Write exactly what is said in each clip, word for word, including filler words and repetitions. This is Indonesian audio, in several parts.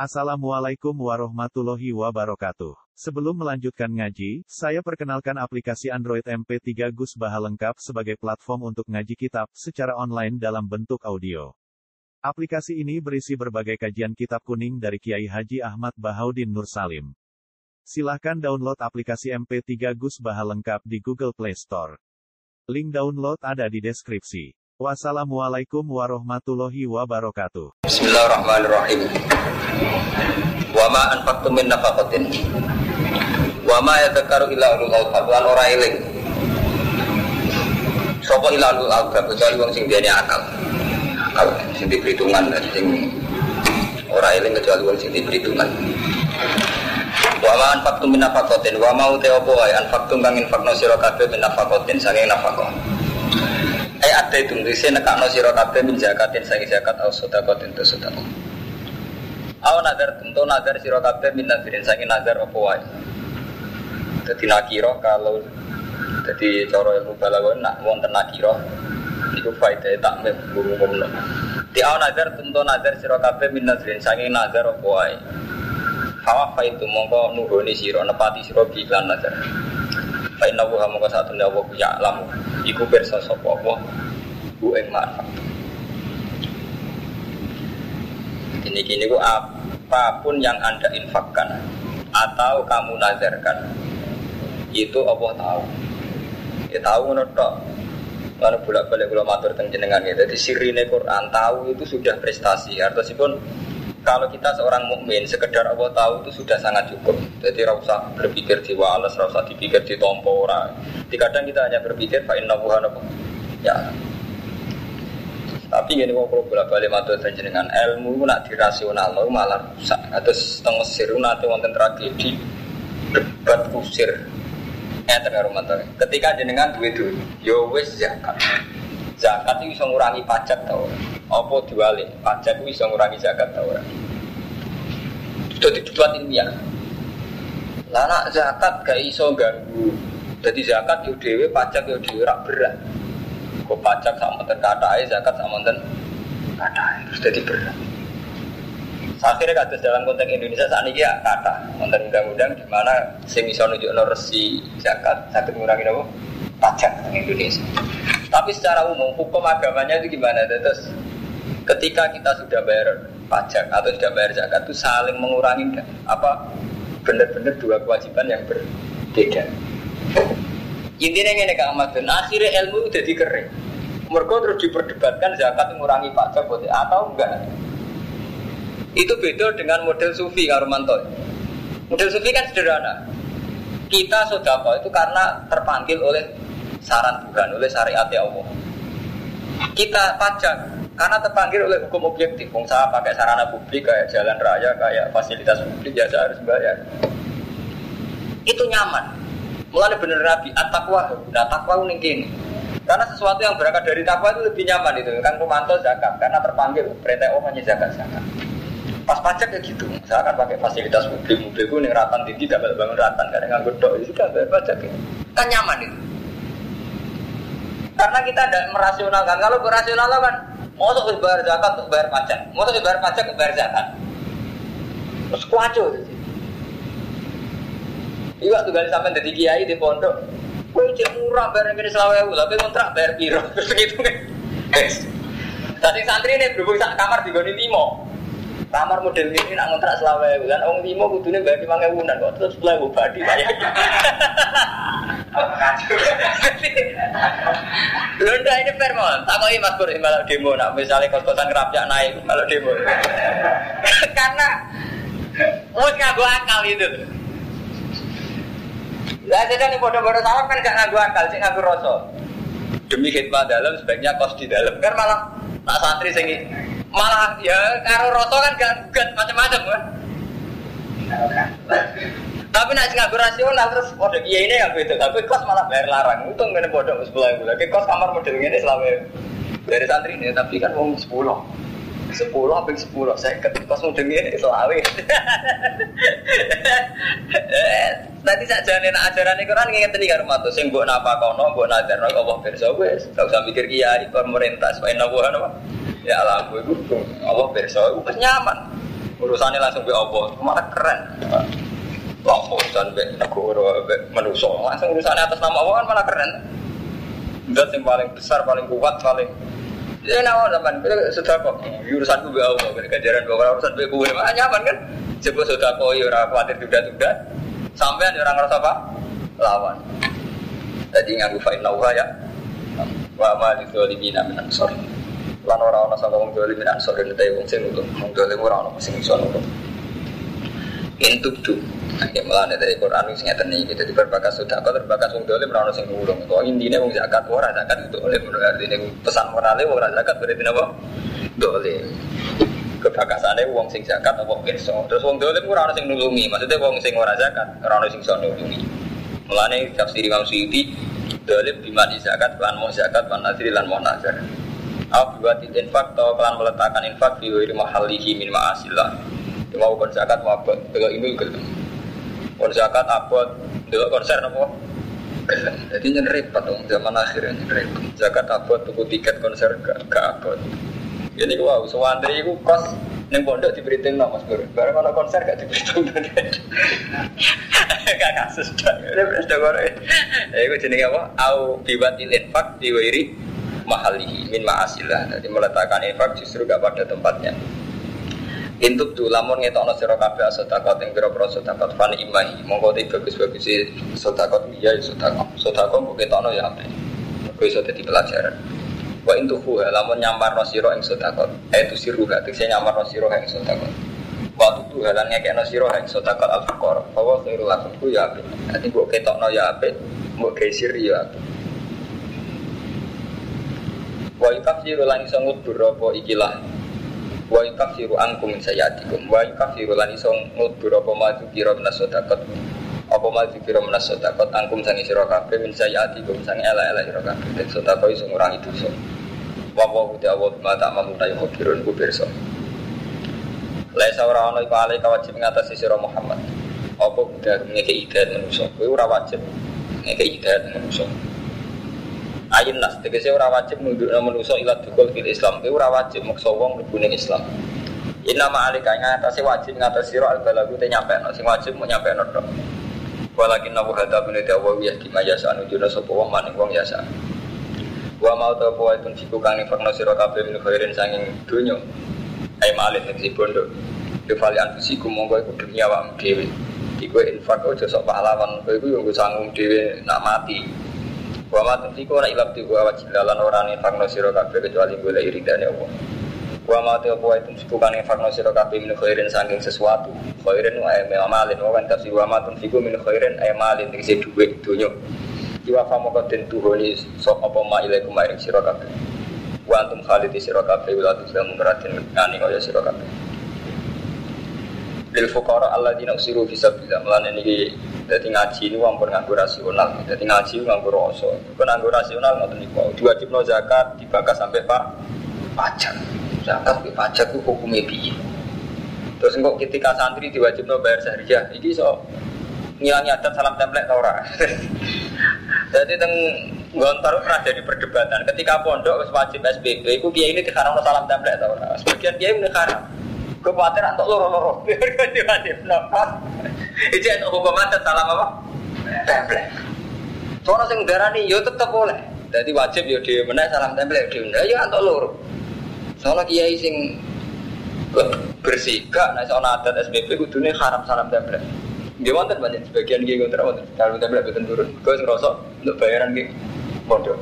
Assalamualaikum warahmatullahi wabarakatuh. Sebelum melanjutkan ngaji, saya perkenalkan aplikasi Android M P tiga Gus Baha lengkap sebagai platform untuk ngaji kitab secara online dalam bentuk audio. Aplikasi ini berisi berbagai kajian kitab kuning dari Kiai Haji Ahmad Bahaudin Nur Salim. Silahkan download aplikasi M P tiga Gus Baha lengkap di Google Play Store. Link download ada di deskripsi. Wassalamualaikum warahmatullahi wabarakatuh. Bismillahirrahmanirrahim. Wa ma anfaqtum min nafaqatin wa ma yadhkaru illa ulul albab lan ora eling sapa illa ulul albab kecuali wong sing duweni akal akal sing diperhitungan sing ora eling kecuali wong sing diperhitungan. Wa ma anfaqtum min nafaqatin wa ma uta apa wae anfaqtum kang infaqno sira kabeh min nafaqatin saking nafaqah ai ate tungrise nekakno sira kabeh min zakatin saking zakat au sedekatin tu sedekah. Aw nazar tentu nazar sira kabeh min nazirin saking nazar apa wae. Dadi nakira kalau dadi cara ilmu balaghah nak wonten nakira niku faedahe takmim umum-umum. Di aw nazar tentu nazar sira kabeh min nazirin saking nazar apa wae. Hawa faitu mongko nuhoni sira nepati sira iklan nazar. Fa inna wa mongko satune Allah ya alam iku pirsa sapa apa ku ing manfaat. Gini-gini ku apapun yang Anda infakkan atau kamu nazarkan itu Allah tahu. Ya tahu ngono tok. Lan bolak-balik kula matur teng jenengan ya. Dadi sirine Quran tahu itu sudah prestasi. Artosipun kalau kita seorang mukmin sekedar Allah tahu itu sudah sangat cukup. Jadi ora usah berpikir jiwa alas, ora usah dipikir ditompo ora. Kadang kita hanya berpikir fa inna Allaha ya. Tapi gini kok kalau bolak-balik matur jenengan ilmu itu nak dirasional malah rusak. Terus teng Mesir nanti wonten tragedi debat kusir. Eh tengah rumah tangga. Ketika jenengan duwe duit, yo wis zakat. Zakat itu bisa ngurangi pajak tau. Apa diwali? Pajak itu bisa ngurangi zakat tau. Sudah dibuat ilmiah. Lah nak zakat gak iso ganggu. Jadi zakat yo dhewe, pajak yo dhewe rak berat. Kok pajak sama monten katae, zakat sama monten katae, terus jadi berat. Akhirnya kados dalam konteks Indonesia saat ini ya kata monten undang-undang di mana sing iso nunjukno resi zakat saged ngurangi apa pajak di Indonesia. Tapi secara umum hukum agamanya itu gimana? Terus ketika kita sudah bayar pajak atau sudah bayar zakat itu saling mengurangi apa benar-benar dua kewajiban yang berbeda. Intinya ini Kak Ahmad, akhirnya ilmu udah dikering. Mereka terus diperdebatkan zakat mengurangi pajak atau enggak. Itu beda dengan model sufi Kak Romanto. Model sufi kan sederhana. Kita sedekah itu karena terpanggil oleh saran Tuhan, oleh syariat Allah. Kita pajak karena terpanggil oleh hukum objektif. Wong saya pakai sarana publik kayak jalan raya, kayak fasilitas publik ya saya harus bayar. Itu nyaman. Mulanya bener Nabi, at-taqwa, nah taqwa itu gini. Karena sesuatu yang berangkat dari taqwa itu lebih nyaman itu. Kan Romanto zakat, karena terpanggil perintah Allah hanya zakat-zakat. Pas pajak ya gitu, saya akan pakai fasilitas publik, mobilku ini ratan tinggi, dapat bangun ratan, karena nganggur dok, itu sudah bayar pajak ya. Kan nyaman itu. Karena kita tidak merasionalkan, kalau berasional kan, mau untuk bayar zakat, untuk bayar pajak, mau untuk bayar pajak, untuk bayar zakat. Terus kuaco gitu. Iya waktu kali sampai dari kiai di pondok, gue cek murah bayar yang kini selawewu, tapi kontrak bayar piro, terus gitu kan. Tadi santri ini berhubung sak kamar di Goni Limo, kamar model ini nak kontrak selawewu, dan orang Limo kudunya bayar lima ribu dan kok terus selawewu badi banyak. Londa ini fair mon, tak kau ini mas Pur malah demo, nak misalnya kos-kosan kerapnya naik malah demo, karena mau ngaku akal itu. Lah jadi nih bodoh-bodoh salam kan gak ngaku akal, sih ngaku rasa. Demi khidmat dalam sebaiknya kos di dalam. Kan malah tak santri sing malah ya karo rasa kan gak gugat macam-macam kan. Tapi nak sing ngaku rasional terus bodoh kiai ini yang beda. Tapi kos malah bayar larang. Untung ngene bodoh sepuluh ribu. Lagi kos kamar model ngene selama dari santri ini tapi kan wong sepuluh. sepuluh sampai sepuluh saya ketika sudah ini selawe. Tadi saja nih ajaran Quran ngingetin di rumah tuh, sing buat apa kono, buat nazar, Allah bersa wes, tak usah mikir kiai pemerintah, supaya nabuhan apa? Ya Allah, gue gue Allah bersa, gue nyaman. urusannya langsung be apa, malah keren. Langsung urusan be negara, be manusia, langsung urusannya atas nama Allah kan malah keren. Zat yang paling besar, paling kuat, paling ya nama zaman sudah kok urusanku be Allah, ganjaran bawa urusan be gue mah nyaman kan. Coba sudah kok ya orang khawatir tunda-tunda, sampai ada orang ngerasa apa? Lawan. Jadi nganggu fa'in nauha ya. Wa ma lidzolimina min ansor. Lan ora ana saka wong dolim min ansor nek wong sing nulung. Wong dolim ora ana sing iso nulung. Intub tu. Nek melane dari Quran sing ngeten iki dadi berbakas sedekah terbakas wong dolim ora ana sing nulung. Kok intine wong zakat ora zakat itu oleh artine pesan morale ora zakat berarti napa? Dolim. Kebakasane wong sing zakat apa pirsa. Terus wong dolim ora ana sing nulungi. Maksudnya wong sing ora zakat ora ana sing iso nulungi. Mulane tafsir Imam Suyuti dolim bimani zakat lan mau zakat lan nadri lan mau nazar. Abuati infak atau kelan meletakkan infak di wiri mahalihi min ma'asillah. Mau kon zakat mau abot, delok ini gelem. Kon zakat abot, delok konser apa? Gelem. Jadi nyen repot dong zaman akhir nyen repot. Zakat abot tuku tiket konser gak gak abot. Jadi gua sewantri iku kos ning pondok diberitain no Mas Bro. Bareng ana konser gak diberitain. Gak kasus dak. Wis gore. Iku jenenge apa? Au biwatil infak di wiri mahalihi min ma'asillah. Jadi meletakkan infak justru gak pada tempatnya. Intub tu lamun ngetokno sira kabeh sedekah ing pira-pira sedekah fan imahi. Monggo te bagus-bagus sedekah iya sedekah. Sedekah kok ketokno ya apik. Kok iso dadi pelajaran. Wa intuhu lamun nyamparno sira ing sedekah. Itu siru gak tekse nyamparno sira ing sedekah. Wa tutu halan ngekekno sira ing sedekah al-fuqara. Bahwa khairul lakum ku ya apik. Dadi kok ketokno ya apik, mbok geisir ya apik. Wa yukaffiru lan iso ngudur apa ikilah wa yukaffiru ankum min sayyiatikum wa yukaffiru lan iso ngudur apa maju kira minas sedekah apa maju kira minas sedekah angkum sang sira kabeh min sayyiatikum sang ela-ela sira kabeh den sedekah iso ngurangi dosa wa wa ta'ala ma ta'malu ta yukhbirun ku pirsa laisa ora ana iku ale wajib ngatasi sira Muhammad apa kudu ngekeki hidayat manusa kuwi ora wajib ngekeki hidayat manusa ayin nas tegese ora wajib nundukna manusa ila dukul fil Islam. Kuwi ora wajib maksa wong mlebu ning Islam. Inna ma'alika ngatasi wajib ngatasi sira al-balagu te nyampeno sing wajib mau nyampeno tok. Walakin nabu hada bin ta'awiyah di majasa anujuna sapa wong maning wong yasa. Wa mau ta poe tun siku kang infakna sira kabeh min khairin sanging donya. Ai malih nek bondo. Defali anfusiku monggo iku demi awakmu dhewe. Iku infak aja sok pahlawan, kowe iku yo nggo sanggung dhewe nak mati. Wa ma tunfiqu ora ilab tiku wajib lan ora nifakno sira kabeh kecuali golek iridane Allah. Wa ma tunfiqu wa tunfiqu kan nifakno sira kabeh min khairin saking sesuatu. Khairin wa amalin wa kan tafsir wa ma tunfiqu min khairin amalin dikse dhuwit donya. Iwa fa moko den tuhoni sok apa ma ilaikum maring sira kabeh. Wa antum khalidi sira kabeh wa tuslam muratin ngani kaya sira kabeh. Lil fuqara alladzina usiru fi sabilillah lan niki dadi ngaji niku ampun nganggo rasional dadi ngaji nganggo rasa kok nganggo rasional ngoten niku diwajibno zakat dibakas sampai pak pajak zakat ke pajak ku hukume piye terus engko ketika santri diwajibno bayar sahriyah iki iso ngilangi adat salam template ta ora dadi teng Gontor pernah jadi perdebatan ketika pondok wis wajib S B B iku kiai ini diharamno salam template ta ora sebagian kiai mengharam kepaten antuk loro-loro biar wajib napa iki ana hukum adat salam apa template sono sing darani yo tetep oleh dadi wajib yo dhewe meneh salam template dhewe yo antuk loro sono kiai sing bersih gak nek ana adat S B B kudune haram salam template nggih wonten banyak sebagian kiai kontra wonten salam template boten turun kok sing ngrasa untuk bayaran ki pondok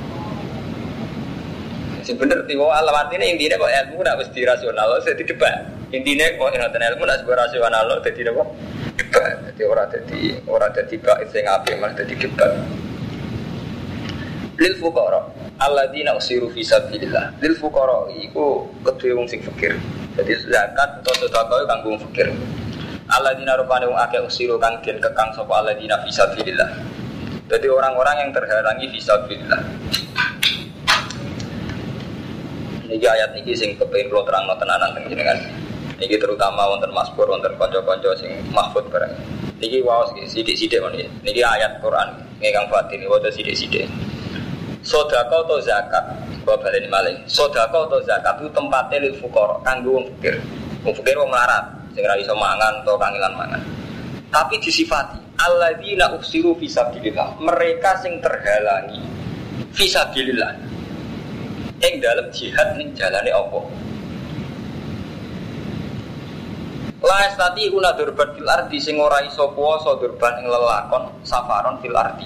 sing bener tiwa alamatine intine kok ilmu nak wis dirasional wis didebat. Intine kok ngoten ilmu nak sebuah rasional dadi apa? Debat. Dadi ora dadi ora dadi bait sing apik malah dadi debat. Lil fuqara alladzina usiru fi sabilillah. Lil fuqara iku kedue wong sing fakir. Dadi zakat atau sedekah kanggo wong fakir. Alladzina rupane wong akeh usiru kang den kekang sapa alladzina fi sabilillah. Dadi orang-orang yang terhalangi fi sabilillah. Niki ayat niki sing kepengin kula terangno tenanan teng jenengan. Niki terutama wonten Mazkur wonten kanca-kanca sing mahfud barang. Niki waos iki sithik-sithik men iki. Niki ayat Quran ingkang batin waca sithik-sithik. Sedekah atau zakat, kula baleni malih. Sedekah atau zakat itu tempate lil fuqara, kanggo wong fakir. Wong fakir wong melarat. sing ra iso mangan atau kangilan mangan. Tapi disifati alladzina uksiru fisabilillah, mereka sing terhalangi fisabilillah ing dalam jihad ning jalane apa. La estati una durban fil ardi sing ora iso kuwasa durban ing lelakon safaron fil ardi.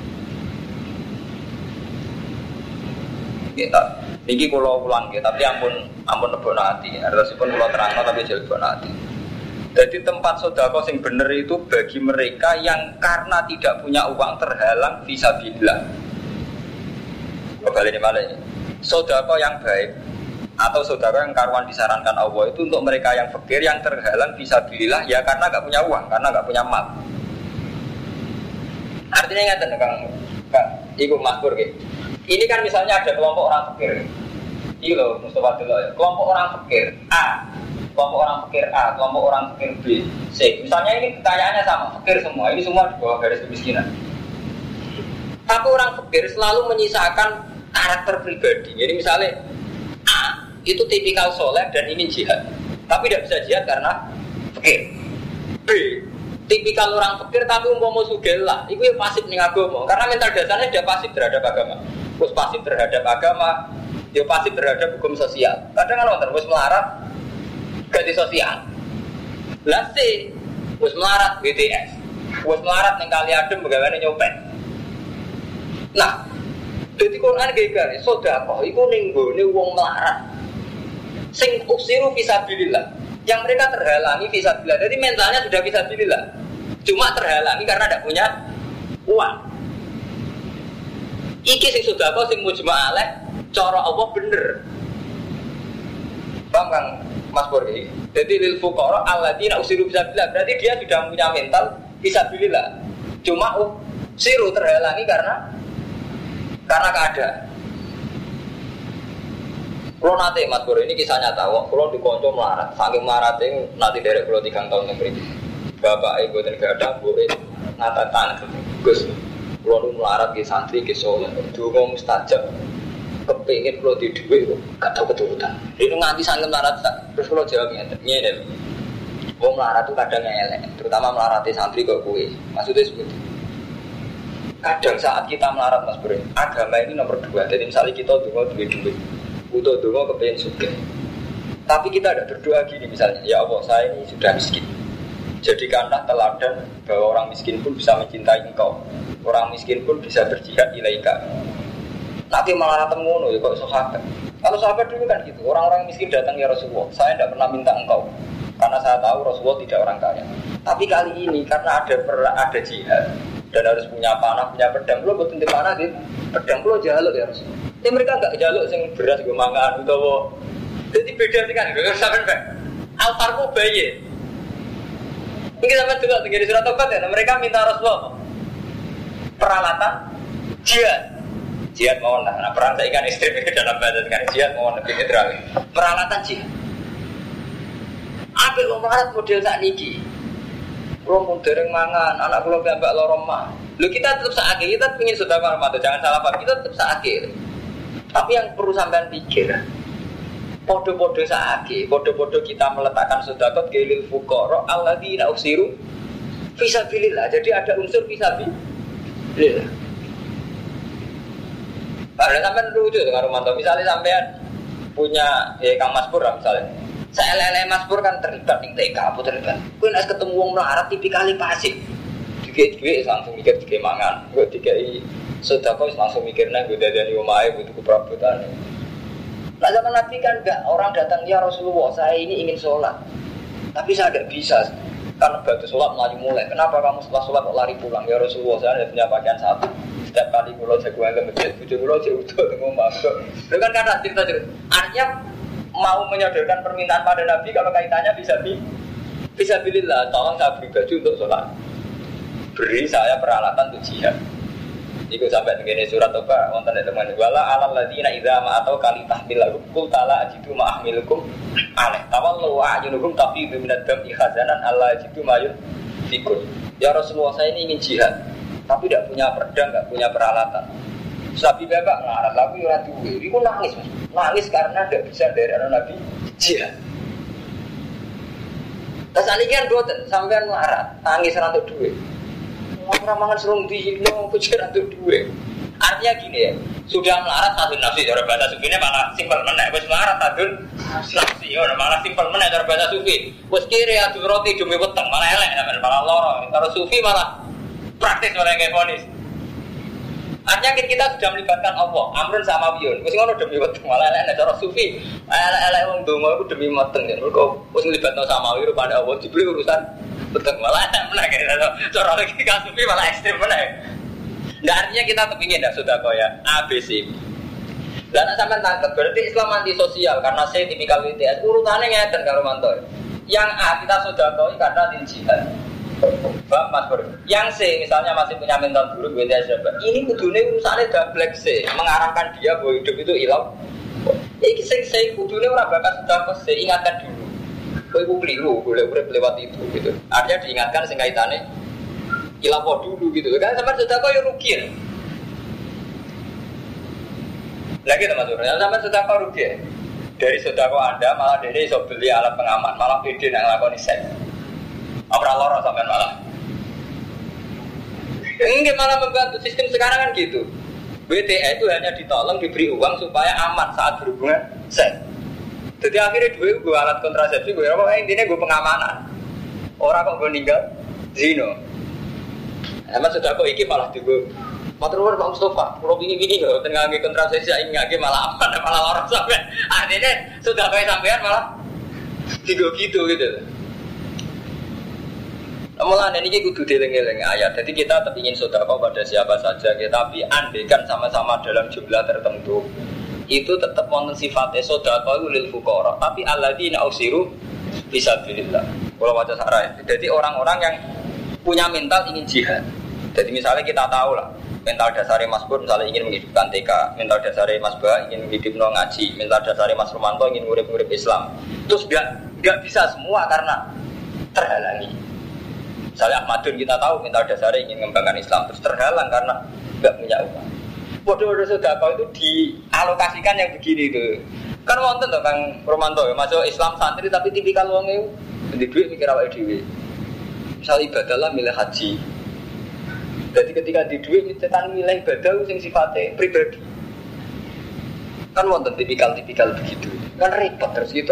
Kita niki kula ulang nggih, tapi ampun ampun lebokno ati. Artosipun kula terangno tapi aja lebokno ati. Jadi tempat sedekah sing bener itu bagi mereka yang karena tidak punya uang terhalang fisabilillah. Kembali malah ini. Sedekah yang baik atau sedekah yang karuan disarankan Allah itu untuk mereka yang fakir yang terhalang fisabilillah ya karena enggak punya uang, karena enggak punya mal. Artinya ngaten Kang. Kang, iku makmur nggih. Ini kan misalnya ada kelompok orang fakir. Iki lho Mustafa dulu ya. Kelompok orang fakir A, kelompok orang fakir A, kelompok orang fakir B, C. Misalnya ini kekayaannya sama, fakir semua. Ini semua di bawah garis kemiskinan. Tapi orang fakir selalu menyisakan karakter pribadi. Jadi misalnya A itu tipikal soleh dan ingin jihad, tapi tidak bisa jihad karena fakir. B tipikal orang fakir tapi umpama sugih lah, itu ya pasif ning agama. Karena mental dasarnya dia pasif terhadap agama. Terus pasif terhadap agama, dia pasif terhadap hukum sosial. Kadang kan wonten wis melarat ganti sosial. Lah C wis melarat B T S. Wis melarat ning kali adem begawane nyopet. Nah, dadi Quran gegare sedekah iku ning gone wong melarat. Sing uksiru fisabilillah. Yang mereka terhalangi fisabilillah. Jadi mentalnya sudah fisabilillah. Cuma terhalangi karena tidak punya uang. Iki sing sedekah sing mujma' alaih cara Allah bener. Paham Kang Mas Pur iki? Jadi lil fuqara alladzina usiru fisabilillah. Berarti dia sudah punya mental fisabilillah. Cuma usiru terhalangi karena karena keadaan. Kalau nanti Mas Pur ini kisah nyata. Kalau di konco melarat, saking melarat itu nanti dari kalau tiga tahun yang berikut. Bapak ibu dan gak ada bu, ngata tanah Gus. Kalau lu melarat di santri di Solo, dulu mustajab, kepingin kalau di duit, gak tahu keturutan. Ini nganti sangat melarat, terus kalau jawabnya, ini deh. Oh melarat itu kadang elek, terutama melarat di santri kok kue. Maksudnya seperti itu. Kadang saat kita melarat Mas Bro, agama ini nomor dua. Jadi misalnya kita dulu duit duit, butuh dulu kepingin suka. Tapi kita ada berdoa gini misalnya, ya Allah saya ini sudah miskin. Jadikanlah teladan bahwa orang miskin pun bisa mencintai engkau. Orang miskin pun bisa berjihad ilaika. Nanti malah ngono ya kok sahabat. Kalau sahabat dulu kan gitu, orang-orang miskin datang ya Rasulullah, saya tidak pernah minta engkau karena saya tahu Rasulullah tidak orang kaya. Tapi kali ini karena ada ada jihad dan harus punya panah, punya pedang, lo buat tentu panah gitu, pedang lo jaluk ya Rasulullah. Tapi mereka enggak jaluk sing beras gue mangan utawa. Jadi beda sih kan, enggak sampean Pak. Alfarku bayi. Mungkin sampean juga tinggal di surat Tobat ya, mereka minta Rasulullah peralatan jihad. Jihad mohon lah, nah perang saya ikan ekstrim ke dalam bahasa kan jihad mohon lebih netral. Peralatan jihad. Apa yang melarat model saat niki? Kalau mau dereng mangan, anak kalau mbak lorong mah. Lu kita tetap seakhir, kita ingin sudah marmata, jangan salah paham, kita tetap seakhir. Tapi yang perlu sampean pikir, podo-podo seakhir, podo-podo kita meletakkan sedekah gelil fuqara alladzina usiru fisabilillah. Jadi ada unsur fisabilillah. Padahal sampean lucu dengan Romanto. Misalnya sampean punya ya Kang Mas Pur misalnya. Saya lele Mas Pur kan terlibat ning T K apa terlibat. Kuwi nek ketemu wong melarat tipikal pasif. Dikit-dikit langsung mikir dikit mangan. Gue dikai sedekah langsung mikirnya gue dadani omahe butuh perabotan. Nah zaman Nabi kan enggak, orang datang ya Rasulullah, saya ini ingin sholat. Tapi saya tidak bisa karena batu sholat melaju mulai. Kenapa kamu setelah sholat kok lari pulang? Ya Rasulullah, saya tidak punya pakaian satu. Setiap kali kalau jagoan ke masjid, bujur kalau jauh itu tengok masuk. Itu kan karena cerita cerita. Artinya mau menyodorkan permintaan pada Nabi kalau kaitannya bisa bi, bisa bilillah. Tolong saya beri baju untuk sholat. Beri saya peralatan untuk jihad. Iku sampai begini surat Toba, wonten teman wala alal ladina idza ma atau kali tahmilakum qul tala ajidu ma ahmilukum alaih tawallu wa ajunukum tapi biminad dam ikhazanan alla ajidu mayun fikun. Ya Rasulullah, saya ini ingin jihad tapi tidak punya pedang, tidak punya peralatan. Sabi bapak ngarang lagu ora duwe. Iku nangis, Mas. Nangis karena tidak bisa dari anak Nabi jihad. Terus ini kan boten sampean melarat, tangis rantuk duit. Orang mangan serung di no pikir rantuk duit. Artinya gini ya, sudah melarat satu nafsi, cara bahasa sufi ini malah simpel menek. Wes melarat satu nafsi, ya malah simpel menek cara bahasa sufi. Wes kiri adu roti demi weteng, malah elek, malah loro. Kalau sufi malah praktis malah kayak ponis. Artinya kita sudah melibatkan Allah, amrun sama wiyun. Wes ngono demi weteng, malah elek. Cara sufi, elek-elek wong donga iku demi weteng. Mergo wes melibatno sama wiyun pada Allah dibeli urusan weteng, malah elek menek. Cara logika sufi malah ekstrem menek. Nah, artinya kita kepingin dah sudah kau ya A B C. Dan sampai tangkap berarti Islam anti sosial karena C tipikal W T S urutannya ngeten karo mantor. Yang A kita sudah kau karena anti jihad. Bang Mas Bro. Yang C misalnya masih punya mental buruk W T S ini kudune urusannya double C mengarahkan dia bahwa hidup itu ilau. Iki sing C kudune ora bakal sudah kau C ingatkan dulu. Kau ibu keliru boleh boleh lewat itu gitu. Artinya diingatkan sing kaitannya ilapo dulu gitu kan sampai sudah kau rugi ya. Lagi teman-teman, sampai sudah kau rugi ya. Dari sudah kau Anda malah dari iso beli alat pengaman, malah pede nak nglakoni seks. Ora lara sampean malah. Enggak malah membantu sistem sekarang kan gitu. W T A itu hanya ditolong diberi uang supaya aman saat berhubungan seks. Jadi akhirnya dua gue alat kontrasepsi gue apa intinya gue pengamanan. Orang kok gue ninggal zino. Emang sudah kok iki malah digo. Matur Pak Mustofa, kalau begini-begini lho tengah nggih kontrasepsi saiki nggih malah aman malah lara sampean. Artinya sudah kok sampean malah digo gitu gitu. Amalan ini kudu dieling-eling ayat. Jadi kita tetap ingin sedekah pada siapa saja, tapi andaikan sama-sama dalam jumlah tertentu itu tetap wonten sifatnya sedekah lil fuqara, tapi alladzina usiru fisabilillah. Kalau baca sarah. Jadi orang-orang yang punya mental ingin jihad. Jadi misalnya kita tahu lah, mental dasarnya Mas Bur misalnya ingin menghidupkan T K, mental dasarnya Mas Ba ingin menghidupkan ngaji, mental dasarnya Mas Romanto ingin ngurip-ngurip Islam. Terus gak, gak bisa semua karena terhalangi. Misalnya Ahmadun kita tahu mental dasarnya ingin mengembangkan Islam, terus terhalang karena gak punya uang. Bodoh-bodoh sedekah itu dialokasikan yang begini itu. Kan wonten to Kang Romanto masuk Islam santri tapi tipikal wong e di duit mikir awake dhewe. Misal ibadah lah milih haji. Jadi ketika di duit nyetan milih ibadah sing sifatnya pribadi. Kan wonten tipikal-tipikal begitu. Kan repot terus gitu.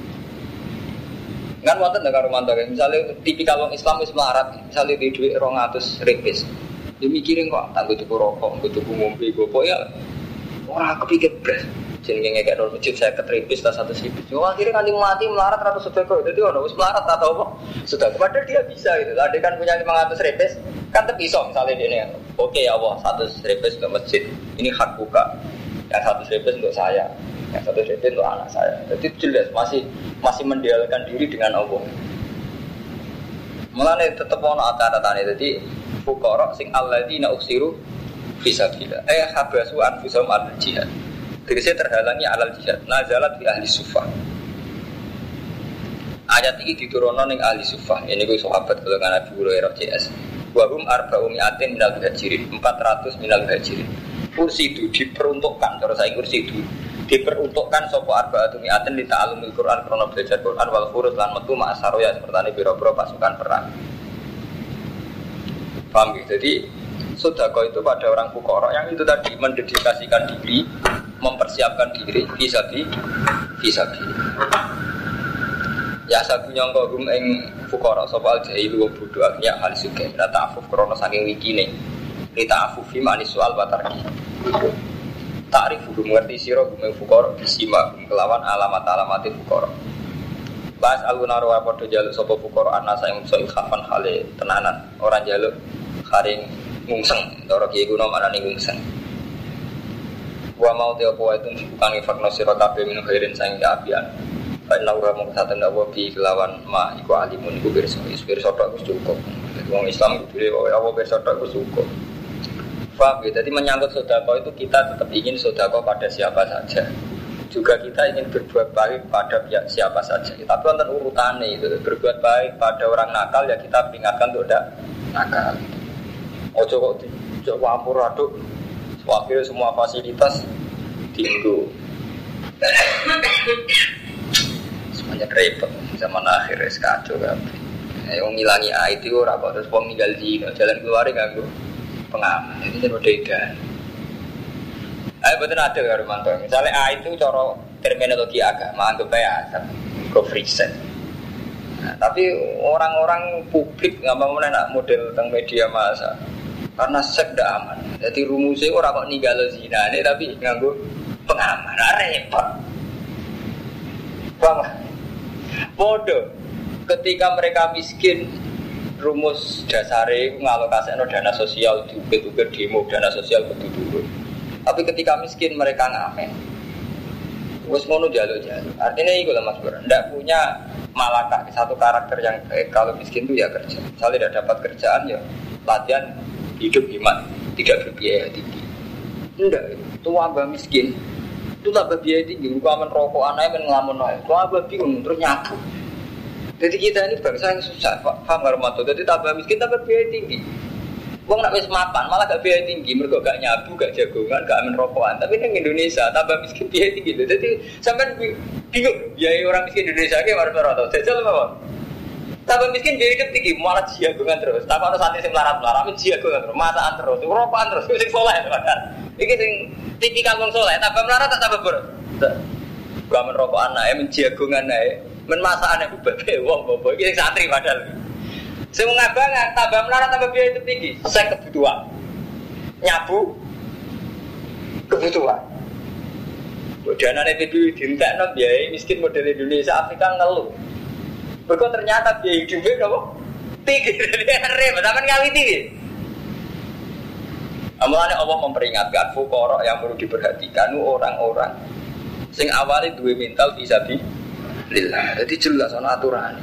Kan wonten ndak karo mantu misalnya tipikal wong Islam wis melarat, misalnya di duit dua ratus ripis. Dia mikirin kok tak tuku rokok, tuku ngombe gopo ya. Ora kepikir blas. Jenenge ngekek nol masjid saya ketripis tas satu ripis. Yo akhirnya kan mati melarat ratus sedekah. Dadi ono wis melarat atau apa? Sudah padahal dia bisa gitu. Ada kan punya lima ratus ripis, kan terpisah misalnya dia ini. Oke ya Allah, seratus ripis untuk masjid. Ini hak buka. Yang seratus ripis untuk saya. Yang seratus ripis untuk anak saya. Jadi jelas masih masih mendialkan diri dengan Allah. Mulane tetep ono acara-acara jadi fuqara sing alladzina uksiru fisabilillah. Eh habasu anfusahum al-jihad. Tegese terhalangi alal jihad. Nazalat fi ahli sufah. Ayat ini diturunkan ning ahli sufah. Ini ku sahabat golongan Abu Hurairah C S. Wa hum arba'u mi'atin minal muhajirin, empat ratus minal muhajirin. Kursi itu diperuntukkan, kalau saya kursi itu diperuntukkan sapa arba'atu mi'atin li ta'allumil Qur'an krana belajar Qur'an wal khurus lan metu ma'asaroya seperti biro-biro pasukan perang. Paham ya? Jadi sedekah itu pada orang fuqara yang itu tadi mendedikasikan diri, mempersiapkan diri fisabi fisabi. Ya sabu nyangka gum ing fuqara sapa al-jahilu wa bodho aknya hal sugih la ta'afuf krana saking wikine. Li ta'afufi manis soal batarki. Ta'rif gum ngerti sira gum ing fuqara bisima gum kelawan alamat-alamate fuqara. Bas aluna wa padha jaluk sapa fuqara ana sing iso khafan hale tenanan, ora jaluk haring ngungseng, cara kiye kuno marani ngungseng. Wa mau te apa itu bukan fakna sira kabeh minum khairin sang apian. Baik laura mung saten apa bi kelawan ma iku alimun iku pirsa pirsa tok wis cukup. Wong Islam kudu wae apa pirsa tok wis cukup. Faham ya? Jadi menyangkut sedekah itu kita tetap ingin sedekah pada siapa saja. Juga kita ingin berbuat baik pada pihak siapa saja. Tapi wonten urutane itu. Berbuat baik pada orang nakal ya kita peringatkan untuk tidak nakal. Ojo kok ojo wampur aduk. Akhirnya semua fasilitas tinggu. Semuanya repot. zaman akhir es kacau kabeh. Yang ngilangi A itu ora kok terus wong ninggal zina jalan keluar nganggo pengaman. Itu kan beda. Ayo betul ada karo mantu. Misalnya A itu cara terminologi agama anggap aja asal go free sex. Nah, tapi orang-orang publik nggak mau nak model tentang media massa karena seks tidak aman. Jadi rumusnya orang kok ninggal zina ini tapi nganggo pengaman. Repot. Bang, bodoh. Ketika mereka miskin, rumus dasare ngalokasikan dana sosial juga demo dana sosial betul-betul. Tapi ketika miskin mereka ngamen. Wes ngono jaluk-jaluk. Artinya itu lah Mas Bro. Ndak punya malakah satu karakter yang baik. Kalau miskin itu ya kerja. Misalnya tidak dapat kerjaan ya latihan hidup hemat, tidak berbiaya tinggi. Enggak, itu wabah miskin. Itu tambah biaya tinggi. Rupa merokok anaknya men ngelamun ae. Wabah bingung terus nyabu. Jadi kita ini bangsa yang susah, paham nggak Romanto? Jadi tambah miskin tambah biaya tinggi. Wong nak wis mapan malah gak biaya tinggi, mergo gak nyabu, gak jagongan, gak amen rokokan. Tapi nang Indonesia tambah miskin biaya tinggi. Jadi sampean bingung biaya orang miskin Indonesia ki marah-marah. Jajal mawon. Tambah miskin biaya hidup tinggi, malah jagongan terus. Tambah ono santri sing melarat-melarat, men jagongan terus, masakan terus, rokokan terus, sing saleh tenan. Iki sing tipikal wong saleh, tambah melarat tak tambah boros. Gak amen rokokan ae, men jagongan ae, men masakane bebek wong bobo iki sing santri padahal. Sing ngabangan tambah melarat tambah biaya hidup tinggi. Saya kebutuhan. Nyabu kebutuhan. Danane P B dientekno biaya miskin model Indonesia Afrika ngeluh. Berkok ternyata biaya hidupnya napa? Tinggi. Repot sampean ngawiti iki. Amane Allah memperingatkan fuqara yang perlu diperhatikan orang-orang sing awalnya duwe mental fisabilillah. Jadi jelas ana aturane.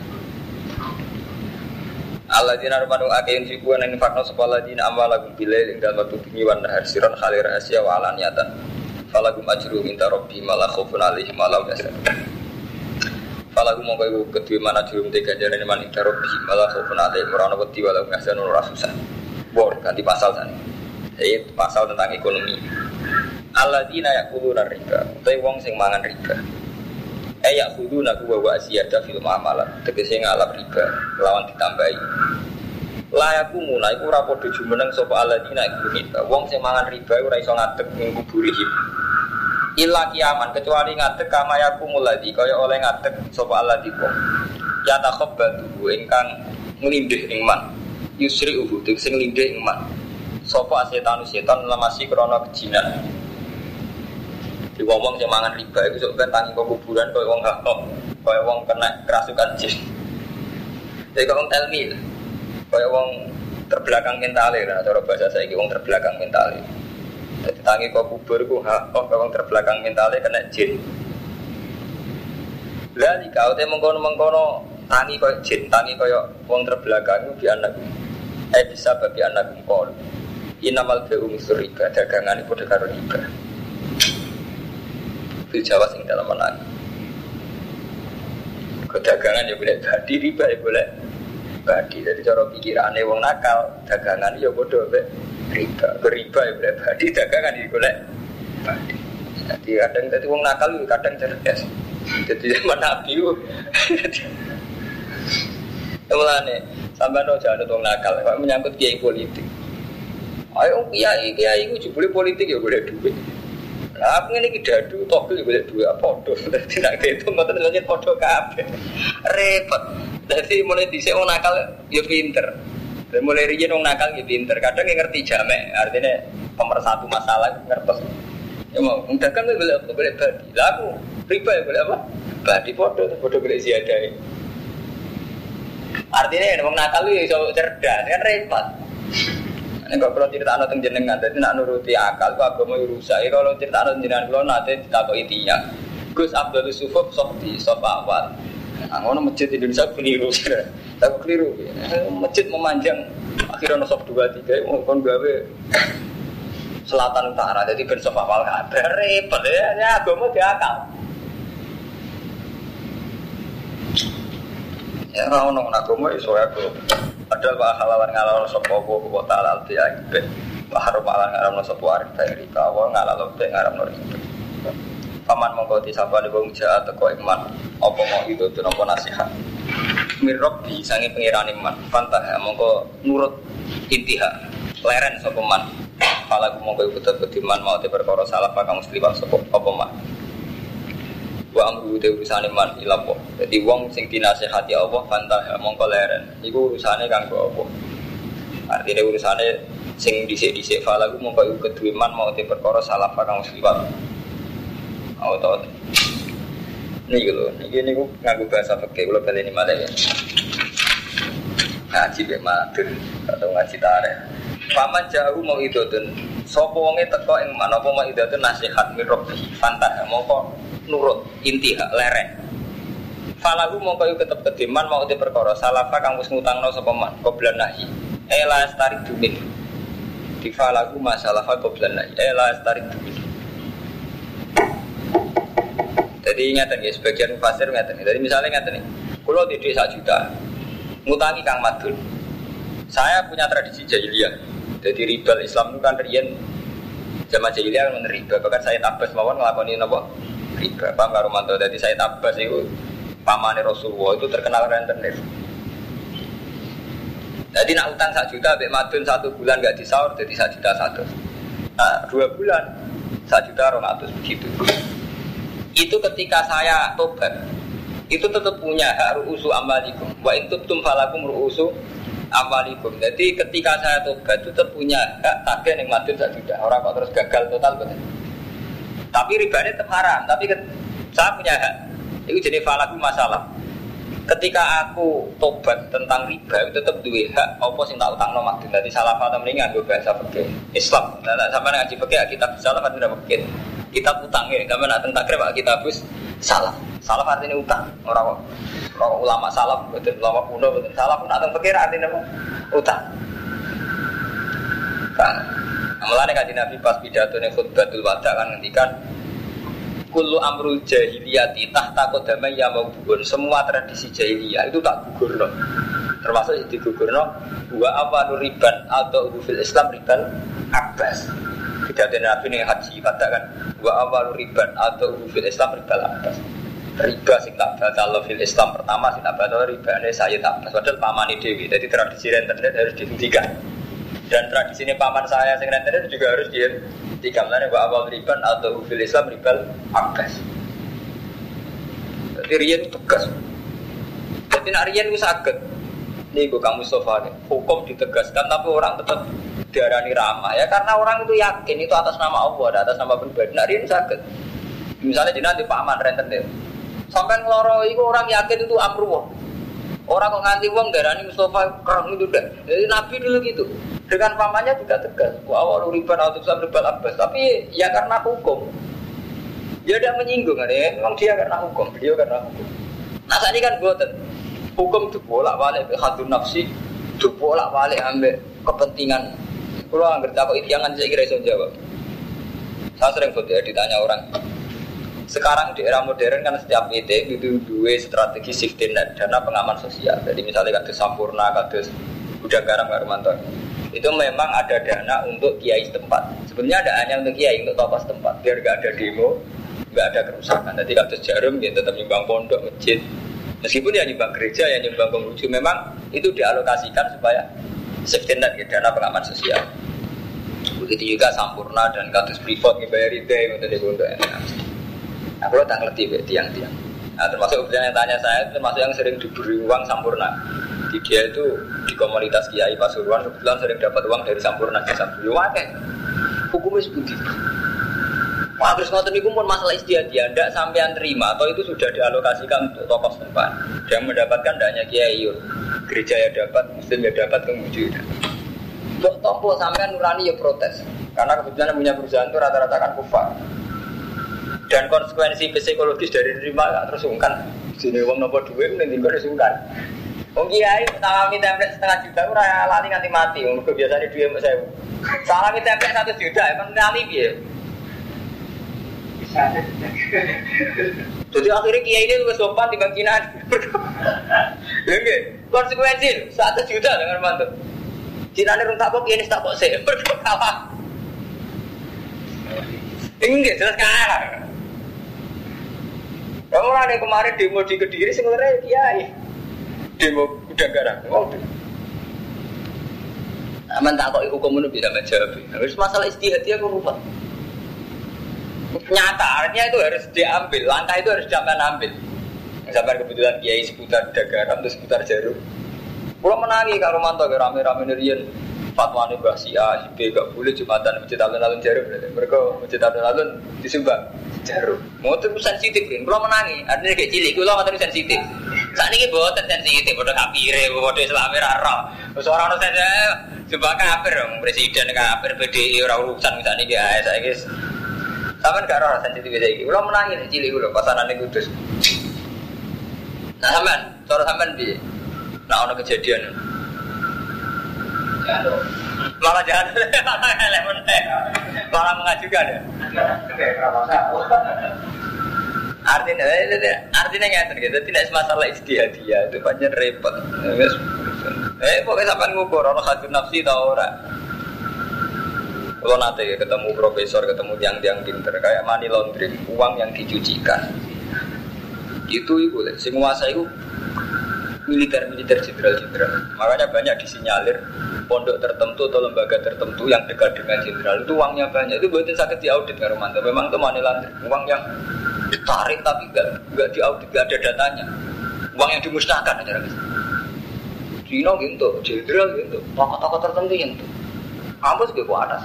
Alladzina rabbanu akin fiku an infaqna saballadina amwalahum bilail ing dalem waktu bengi wan nahar siron khalir asya wa alaniyatan falagum ajru minta rabbi mala khaufun alaihim wa la yahzan falagum mongko iku kedue mana jurum te ganjarane man ing rabbi mala khaufun alaihim wa la wedi wa la yahzan ora susah. Bor ganti pasal sana. Iki pasal tentang ekonomi. Alladzina yaquluna riba, utawa wong sing mangan riba. Ayak kudu nak gua gua asiada film amalan. Tegese ngalap riba, lawan ditambahi. Layaku mulai ku ora padha jumeneng sapa alladzina riba. Wong sing mangan riba ora iso ngadeg ning kuburihim. Illa kiaman kecuali ngadeg kamayaku muladi kaya oleh ngadeg sapa alladzina. Ya takhabbatu ingkang nglindih ing man. Yusri ubu sing nglindih ing man. Sapa setan setan lemasi krana kejinan. Di wong-wong sing mangan riba iku sok ben tangi kuburan koyo wong hakok, koyo wong kena kerasukan jin. Jadi kok wong telmi, koyo wong terbelakang mentale lah, cara bahasa saiki wong terbelakang mentale. Jadi tangi kok kubur iku hakok koyo wong terbelakang mentale kena jin. Lah iki kau te mengkono-mengkono tangi koyo jin, tangi koyo wong terbelakang iku di anak. Eh bisa bagi anak kol. Inamal ba'u misriba dagangan iku padha karo riba. Di Jawa sing dalam menang. Kedagangan ya boleh badi, riba ya boleh badi. Jadi cara pikirane wong nakal, dagangan ya padha mek riba. Riba ya boleh badi, dagangan ya boleh badi. Jadi kadang dadi wong nakal yo kadang cerdas. Jadi zaman Nabi yo. Mulane sampeyan aja ana wong nakal, kok menyangkut kiai politik. Ayo kiai kiai iku jebule politik ya boleh duit. Lah aku ngene iki dadu togel golek duwe padha. Dadi nek itu mboten lanjut padha kabeh. Repot. Dadi mulai dhisik wong nakal ya pinter. Dan mulai riyen wong nakal ya pinter. Kadang ngerti jamek, artinya pemersatu masalah ngertos. Ya mau dagang golek apa golek badi. Lah aku riba ya golek apa? Badi padha padha golek ziyadah. Artinya wong nakal ya iso cerdas, kan repot. Nek kalau cerita anak teng jenengan, jadi nak nuruti akal, kok agama rusak. Kalau cerita anak jenengan kalau nanti ditakoki tiang, Gus Abdul Sufuf Softi, Sof awal. Angono masjid Indonesia keliru, tak keliru. Masjid memanjang, akhirnya Sof dua tiga, mau kon gawe selatan utara, jadi ben Sof awal kabar repot ya. Ya agama diakal. Ya orang orang agama iso aku. Padahal wa halalan ngalawan sapa apa kota alal tiabe. Wa harumalan ngaramno sapa arif dari kawa ngalalo te ngaramno ribe. Paman mongko disapa wong jaat teko iman apa mau itu apa nasihat. mirrob di sange pengirane man pantah mongko nurut intiha leren sapa man pala mongko ikut kediman mau te perkara salah kang musliman sapa apa man wa amru te urusane man ilapo dadi wong sing dinasehati Allah pantah mongko leren iku urusane kanggo apa artine urusane sing dhisik-dhisik pala mongko ikut kediman mau te perkara salah kang musliman auto ini gitu, ini aku ngaku bahasa pakai kalau kalian ini malah ya ngaji bematur atau ngaji tarik. Paman jauh mau itu tuh, sopo wonge teko yang mana mau itu tuh nasihat mirobi, fantah mau kok nurut inti hak lereng. Falagu mau kau ketep kediman mau di perkara salah pak kamu ngutang no sopo man, kau belan nahi. Ela tarik dumin. Di falagu masalah kau belan nahi. Ela tarik dumin. Jadi ingatkan ya, sebagian mufasir ingatkan. Jadi misalnya ingatkan nih, kalau di desa juta, ngutangi Kang Madun. Saya punya tradisi jahiliyah. Jadi riba Islam itu kan rian zaman jahiliyah kan riba. Bahkan saya tabas mawon ngelakoni apa? Riba. Paham karo mantu. Jadi saya tabas itu pamane Rasulullah itu terkenal rentenir. Jadi nak utang satu juta, Mbak Madun satu bulan nggak disaur, jadi satu juta satu. Nah dua bulan satu juta orang atus begitu. Itu ketika saya tobat itu tetap punya hak ru'usu amwalikum wa in tubtum falakum ru'usu amwalikum. Jadi ketika saya tobat itu tetap punya hak tagih ning madun sak juta. Orang kok terus gagal total betul. Tapi ribanya tetap haram, tapi ket, saya punya hak. Itu jadi falakum masalah. Ketika aku tobat tentang riba itu tetap duwe hak apa sing tak utangno madun. Dadi salah paham mendingan go bahasa fikih Islam. Lah sampeyan ngaji fikih kitab salah kan tidak fikih. Kita utang ya, kami nak tentang krep kita habis salah, salah artinya utang. Orang orang ulama salah, betul ulama kuno betul salah pun nak tentang pikir artinya apa? Utang. Kan, amalannya kaji Nabi pas pidato nih khutbatul wada kan ngendikan, kullu amrul jahiliyati tahta qadamai ya maubun. Semua tradisi jahiliyah itu tak gugur loh. Termasuk di gugur loh. Wa apa riban atau fil Islam riban abbas. Pidato Nabi nih haji katakan wa awal riban atau fil Islam riba abbas. Riba sing tak batal fil Islam pertama sing tak batal ribane Sayyid Abbas. Padahal pamane dhewe. Jadi tradisi rentenir harus dihentikan. Dan tradisi ini paman saya sing rentenir juga harus dihentikan. Lan wa awal riban atau fil Islam riba abbas. Jadi riyen tegas. Jadi nak riyen wis saged. Niku Kang Mustofa nih, hukum ditegaskan tapi orang tetap diarani ramah ya karena orang itu yakin itu atas nama Allah, atas nama pribadi. Nah, ini sakit. Misalnya di nanti paman rentenir, sampai ngeloro itu orang yakin itu amruwah. Orang kok nganti wong diarani Mustofa kerang itu dah. Jadi Nabi dulu gitu. Dengan pamannya juga tegas. Wa awal riban atau sam ribal abbas. Tapi ya karena hukum. Dia tidak menyinggung ya. Memang dia karena hukum, beliau karena hukum. Nah saat ini kan boten. Hukum itu bolak-balik hadun nafsi, itu bolak-balik ambil kepentingan. Kalau anggar takut jangan saya kira iso jawab. Saya sering foto ya, ditanya orang. Sekarang di era modern kan setiap I T itu dua strategi safety net dana pengaman sosial. Jadi misalnya kados Sampurna, kados Gudang Garam Karumanto. Itu memang ada dana untuk kiai setempat. Sebenarnya ada hanya untuk kiai, untuk tokoh setempat. Biar nggak ada demo, nggak ada kerusakan. Jadi kados Jarum dia tetap nyumbang pondok, masjid. Meskipun ya nyumbang gereja, ya nyumbang pengrujuk, memang itu dialokasikan supaya safety net, ya, dana pengaman sosial. Begitu juga Sampurna dan kados Freeport ngebayar I T untuk dibunduk. Nah, kalau tak ngerti be tiang-tiang. Nah, termasuk yang tanya saya, termasuk yang sering diberi uang Sampurna. Di dia itu di komunitas Kiai Pasuruan kebetulan sering dapat uang dari Sampurna ke Sampurna. Hukumnya seperti itu. Wah, terus ngoten niku pun masalah istiadat, ndak sampean terima atau itu sudah dialokasikan untuk tokoh setempat. Yang mendapatkan tidak hanya kiai, gereja ya dapat, muslim ya dapat, kemudian untuk tokoh sampean nurani ya protes. Karena kebetulan punya perusahaan itu rata-rata kan kufar. Dan konsekuensi psikologis dari terima gak terus sungkan. Sini uang nopo duit nanti gue sungkan. Wong kiai salami template setengah juta ora lali nganti mati. Wong biasane duwe mbok sewu. Salami template satu juta emang ngali piye? Jadi akhirnya kiai ini lebih sopan dibanding Cina. Ya nggih, konsekuensi satu juta dengan mantu. Cina ini runtak kok kiai ini tak kok sih berkalah. Ini jelas kalah. Kamu ada kemarin demo di Kediri sebenarnya kiai. demo udah garang. Oh. Aman tak kok hukum itu bisa menjawab. Harus masalah istihadi aku lupa. Nyata artinya itu harus diambil, langkah itu harus jangan ambil. Sampai kebetulan kiai seputar Dagaram terus seputar Jarum. Pulau menangi kalau mantau rame-rame nerian fatwa nih si A, si B gak boleh jumatan masjid alun-alun Jarum. Mereka masjid alun-alun disumbang Jarum. Mau terus sensitif kan? Pulau menangi, artinya kayak cilik, pulau terus sensitif. Saat ini buat sensitif, bodoh kafir, bodoh Islamir arah. Seorang orang saja sumpah kafir, presiden kafir, B D I orang urusan misalnya guys, saya guys. Sama gak roh sensitif kayak gini. Pulau menangi cilik pulau pasaran ini kudus. Nah sampean, cara sampean piye? Nah ono kejadian. Jatuh. Malah jatuh, malah telepon teh. Malah mengajukan ya. Artinya, artinya nggak terjadi. Tidak semasalah istihadiyah itu banyak repot. Eh, pokoknya sampean ngukur ono hadun nafsi tau ora. Kalau nanti ketemu profesor, ketemu tiang-tiang pinter kayak money laundering, uang yang dicucikan. Itu itu lah, sing nguasa itu militer-militer jenderal-jenderal. Makanya banyak disinyalir pondok tertentu atau lembaga tertentu yang dekat dengan jenderal itu uangnya banyak. Itu buatin sakit diaudit kan Romanto. Memang itu money laundering, uang yang ditarik tapi enggak enggak diaudit, enggak ada datanya. Uang yang dimusnahkan aja guys. Cina gitu, jenderal gitu, tokoh-tokoh tertentu gitu. Kampus ke atas.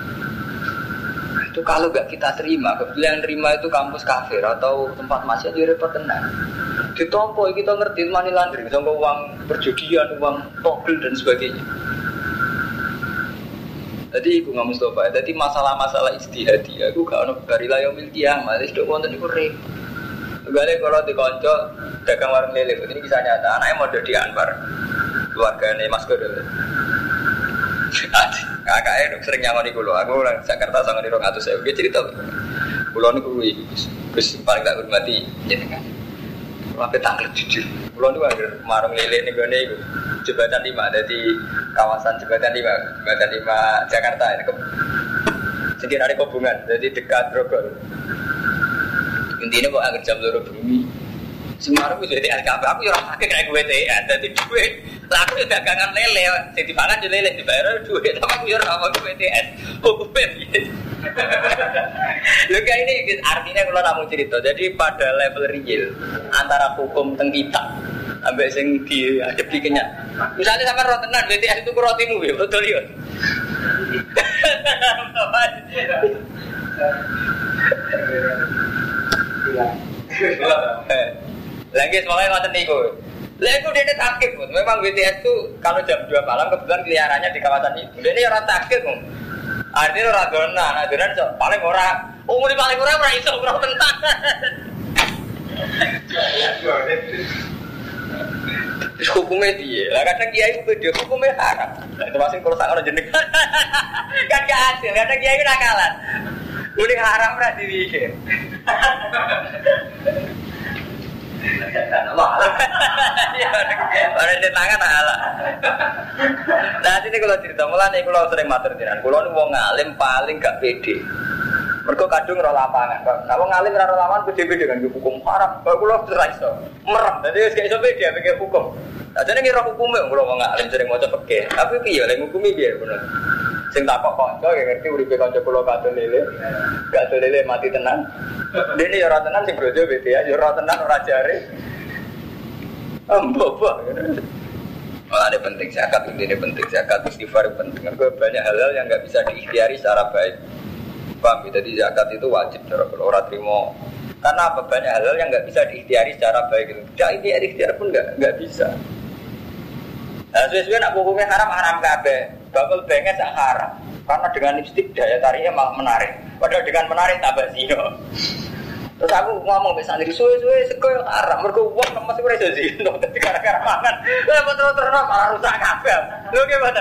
Itu kalau gak kita terima, kebetulan yang terima itu kampus kafir atau tempat maksiat jadi repot tenang. Ditompo kita ngerti money laundering, sama uang perjudian, uang togel dan sebagainya. Jadi aku nggak Mustafa, jadi masalah-masalah istihadi, aku gak ono barilah yang milki yang masih sudah wonten itu repot. Gale kalau dikonco dagang warung lele, ini kisah nyata. Anaknya mau di Anwar, keluarganya Mas Kodol. Kakaknya sering nyangoni kulo, aku orang Jakarta sama di Rong Atus saya dia cerita. Kulo ni kulo Gus paling tak hormati jenengan. Kulo ape tanglet jujur. Kulo ni wae marung lele ning gone iku. Jembatan lima ada di kawasan Jembatan lima, Jembatan lima Jakarta ini. Sedikit ada hubungan, jadi dekat Grogol. Intinya kok agar jam loro bumi. Semarang itu jadi aku aku ya orang pakai kayak gue teh, ada di duit. Lalu dagangan lele, saya dipangan di lele dibayar duit, tapi aku ya orang pakai B T S, hukumnya gitu. Lalu kayak ini artinya kalau namun cerita, jadi pada level real antara hukum teng kita, sampai sing di ada bikinnya. Misalnya sama rotenan B T S itu rotimu ya, betul ya. Lagi semuanya ngoten niku. Lah iku dene takif, memang B T S itu kalau jam dua malam kebetulan keliarannya di kawasan itu. Dene ora takif, Bung. Artinya ora donan, adonan paling ora umur paling ora ora iso ora tenan. Hukumnya dia, lah kadang kiai itu beda, hukumnya haram. Nah, termasuk kalau sangat jenengan, kan gak hasil, kadang kiai itu nakalan. Udah haram lah dibikin. Orang di tangan alah. Nah ini kalau cerita mulai nih kalau sering matur jiran, kalau nih wong ngalim paling gak pede. Mereka kadung roh lapangan. Nah wong ngalim roh lapangan pede-pede kan hukum haram. Kalau kalau cerai so merem, jadi gak iso pede pikir hukum. Nah jadi ngira hukumnya kalau wong ngalim sering mau cepet ke. Tapi piye lek hukumi piye bener. Sing takok kanca ya ngerti uripe kanca kula kadon lele. Gak lele mati tenan. Dene ya ora tenan sing brojo B T ya, ya ora tenan ora jare. Ambo-ambo. Oh, ada penting zakat, ini penting zakat, istighfar penting. Karena banyak hal-hal yang enggak bisa diikhtiari secara baik. Paham? Jadi zakat itu wajib cara orang terima. Karena apa? Banyak hal-hal yang enggak bisa diikhtiari secara baik. Tidak ikhtiar pun enggak enggak bisa. Nah, sesuai nak hukumnya haram haram kabeh. Bakal pengen tak haram. Karena dengan lipstik daya tariknya malah menarik. Padahal dengan menarik tambah zino. Terus aku ngomong be santri suwe-suwe sego haram. Mergo wong masih ora iso zino dadi gara-gara mangan. Lah terus-terus malah rusak kabeh. Lho ki mboten.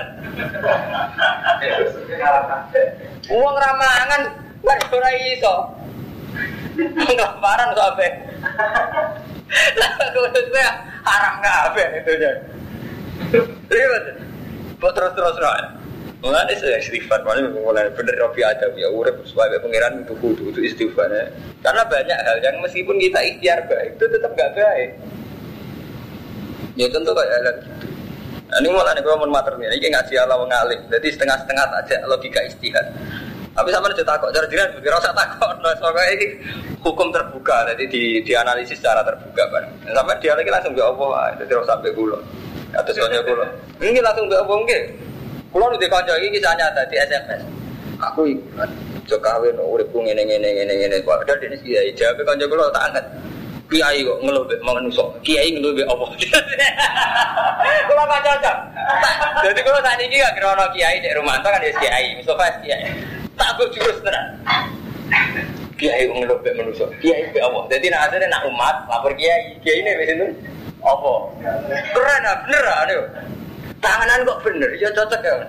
Wong ra mangan ora iso. Ngelaparan kok ape. Lah kuwi haram kabeh itu ya. Lihat. Terus-terus ra. Mulane saya istighfar, mulai bener Robi Adam ya urip sebagai pangeran itu kudu itu istighfar ya. Karena banyak hal yang meskipun kita ikhtiar baik itu tetap enggak baik. Ya tentu kayak gitu. Nah, ini malah nih kalau mau mater nih, ini ngaji ala mengalim, jadi setengah-setengah aja logika istihad. Tapi sama aja takut, cara jiran juga rasa takut. Nah, soalnya ini hukum terbuka, jadi di dianalisis secara terbuka kan. Sampai dia lagi langsung jawab apa, jadi rasa sampai kulo. Atas konco kulo, ini langsung jawab enggak. Kulo udah konco ini kisahnya tadi S M S. Aku ikut, jauh kawin, urip ku ngene ngene ngene ngene. Padahal dia kiai jawab konco kulo tak angkat. Kiai kok ngeluh mek manungso. Kiai ngeluh mek apa? Kulo kan cocok. Jadi kulo saat ini gak kira ono kiai di rumah kan ya kiai, Mustafa kiai. Tak aku jurus tenan. Kiai ngeluh mek manungso. Kiai mek apa? Jadi nak asline nak umat lapor kiai. Kiai ini wis itu apa? Keren ah, bener ah niku. Tanganan kok bener, ya cocok ya.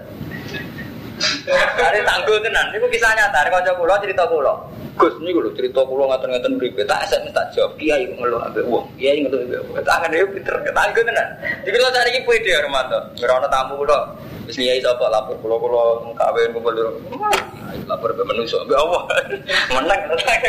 Are tangguh tenan. Niku kisah nyata, kanca kula cerita kula. Gus niku lho cerita kula ngaten-ngaten mripe. Tak S M S tak jawab. Kiai ngeluh ambek wong. Kiai ngeluh ambek wong. Tangan dhewe pinter ketangguh tenan. Iki kula sakniki pede ya Romanto. Ora ana tamu kula. Wis kiai sapa lapor kula kula kawin kumpul lho. Lapor be manungsa ambek apa? Menang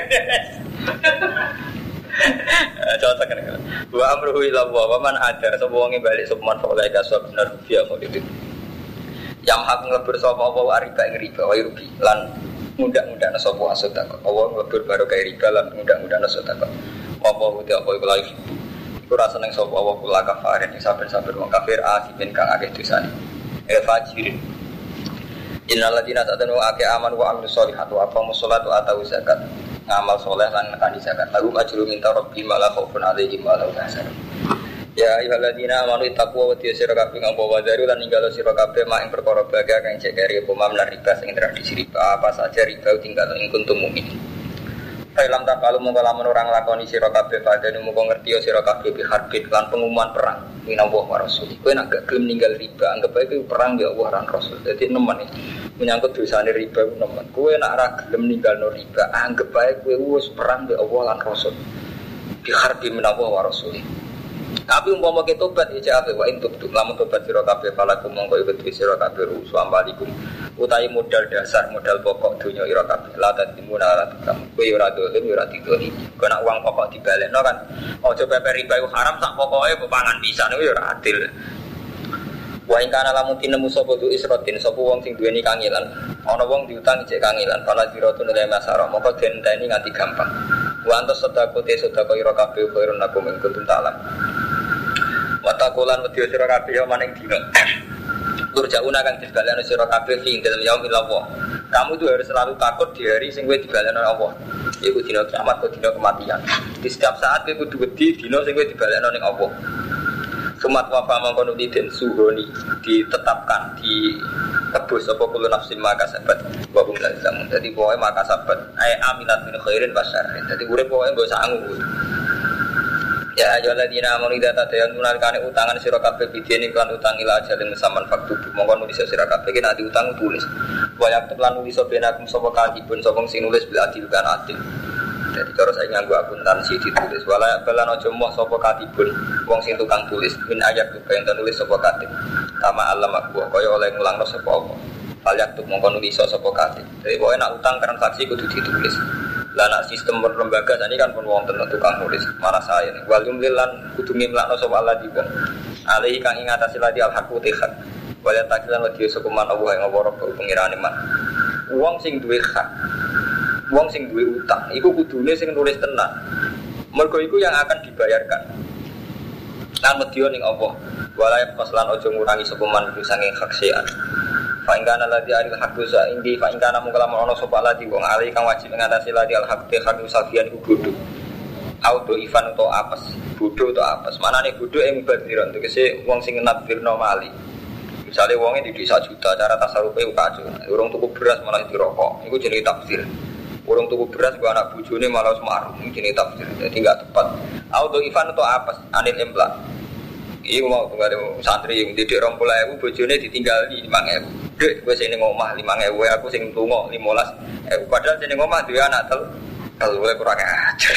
cocok kan. Wa amruhu ila wa man adar sapa wong balik sapa man soleh kasab bener dia mau itu. Yang hak nglebur sapa apa riba ing riba wa rugi lan mudah-mudahan sapa asota kok. Allah nglebur barokah riba lan mudah-mudahan asota kok. Apa uti apa iku laif. Iku rasa nang sapa wa kula kafarin saben-saben wong kafir asimin kang akeh dosane. E fajirin. Innal ladina ta'tanu ake aman wa amilus solihat wa aqamus sholata wa atau zakat. Ngamal soleh lan nekani zakat. Lagu ajru minta rabbi malah khaufun alaihim wa lahum yahzanun. Ya ayyuhalladzina amanu taqwa wa tiyasira kabeh ngapa wadaru lan ninggalo sira kabeh mak ing perkara baga kang cekeri apa mam lan riba sing tradisi riba apa saja riba tinggal ing kuntum mukmin. Film tak kalau mongko lamun orang lakoni sira kabeh padane mongko ngerti sira kabeh bi harbit lan pengumuman perang minallah wa rasul. Kowe nek gak gelem ninggal riba anggap ae kuwi perang ya Allah lan rasul. Dadi nemen iki menyangkut dosane riba ku nemen. Kowe nek ora gelem ninggalno riba anggap ae kowe wis perang ya Allah lan rasul. Bi harbi minallah wa rasul. Tapi umpama kita tobat ya jawab wa intub lamun tobat sira kabeh palaku mongko iku sira kabeh rusu ambalikum utahe modal dasar modal pokok dunya ira kabeh la tadimuna ala kamu kowe ora dolim ora didoli kowe nak uang pokok dibalekno kan aja pepe riba iku haram sak pokoke mbok pangan pisan iku ya ora adil. Wa ing kana lamun tinemu sapa du isrotin sapa wong sing duweni kangilan ana wong diutang cek kangilan fala ziratun la masara mongko denteni nganti gampang wa antas sedako te sedako ira kabeh khairun lakum ing kuntum ta'lam. Watakulan wedya sira kabeh ya maning dina. Turjauna kang dibalekno sira kabeh ing dalem yaumil Allah. Kamu itu harus selalu takut di hari sing kowe dibalekno Allah. Iku dina kiamat atau dina kematian. Di setiap saat kowe kudu wedi dina sing kowe dibalekno ning Allah. Sumat wafa mangkono den suhoni ditetapkan di tebus apa kulo nafsin maka sabat wa hum la zamun. Dadi pokoke maka sabat ai aminat min khairin basyarrin. Dadi urip pokoke mbok sangu. Ya ayyuhalladzina amanu idza tadayantum kana utangan sira kabeh bidene kan utang ila ajalin musamman faktu mongko nulis sira kabeh ki nek diutang tulis wa yaktub lan nulis benakum sapa katibun sapa sing nulis bil adil kan adil. Jadi cara saya nganggo akuntansi ditulis wala balan aja moh sapa katibun wong sing tukang tulis min ayat tuh yang nulis sapa katib kama alam aku kaya oleh ngulangno sapa apa fal yaktub mongko nulis sapa katib. Jadi pokoke nek utang transaksi kudu ditulis. Lah nak sistem berlembaga tadi kan pun wong tentu tukang nulis mana saya nih wal jumlilan kudu ngimlakno sapa Allah di wong alih kang ing atase ladi al haqu tehak wal takilan wa diyo sekuman Allah ing ngawara pengirane man wong sing duwe hak wong sing duwe utang iku kudune sing nulis tenan mergo iku yang akan dibayarkan lan medya ning Allah wala faslan aja ngurangi sekuman iku saking hak sean. Fa'ingkana ladhi aril haqdu sa'indi fa'ingkana mungkalaman ono sopa ladhi wong alih kang wajib mengatasi ladhi al-haqdu haqdu safian iku bodoh auto ifan atau apes bodoh atau apes mana nih bodoh yang mubadiran itu kasi wong sing nadbirno mali misalnya wongnya di desa juta cara tasarufnya itu kacau urung tuku beras malah dirokok itu jenis tafsir urung tuku beras gua anak bujone malah semaruh itu jenis tafsir jadi gak tepat auto ifan atau apes anil emplak iya mau tunggu santri yang didik rompul ewu bojone ditinggal di lima ewu dek gue sini ngomah lima ewu aku sing tunggu lima belas ewu padahal sini ngomah dua anak tel tel boleh kurang ajar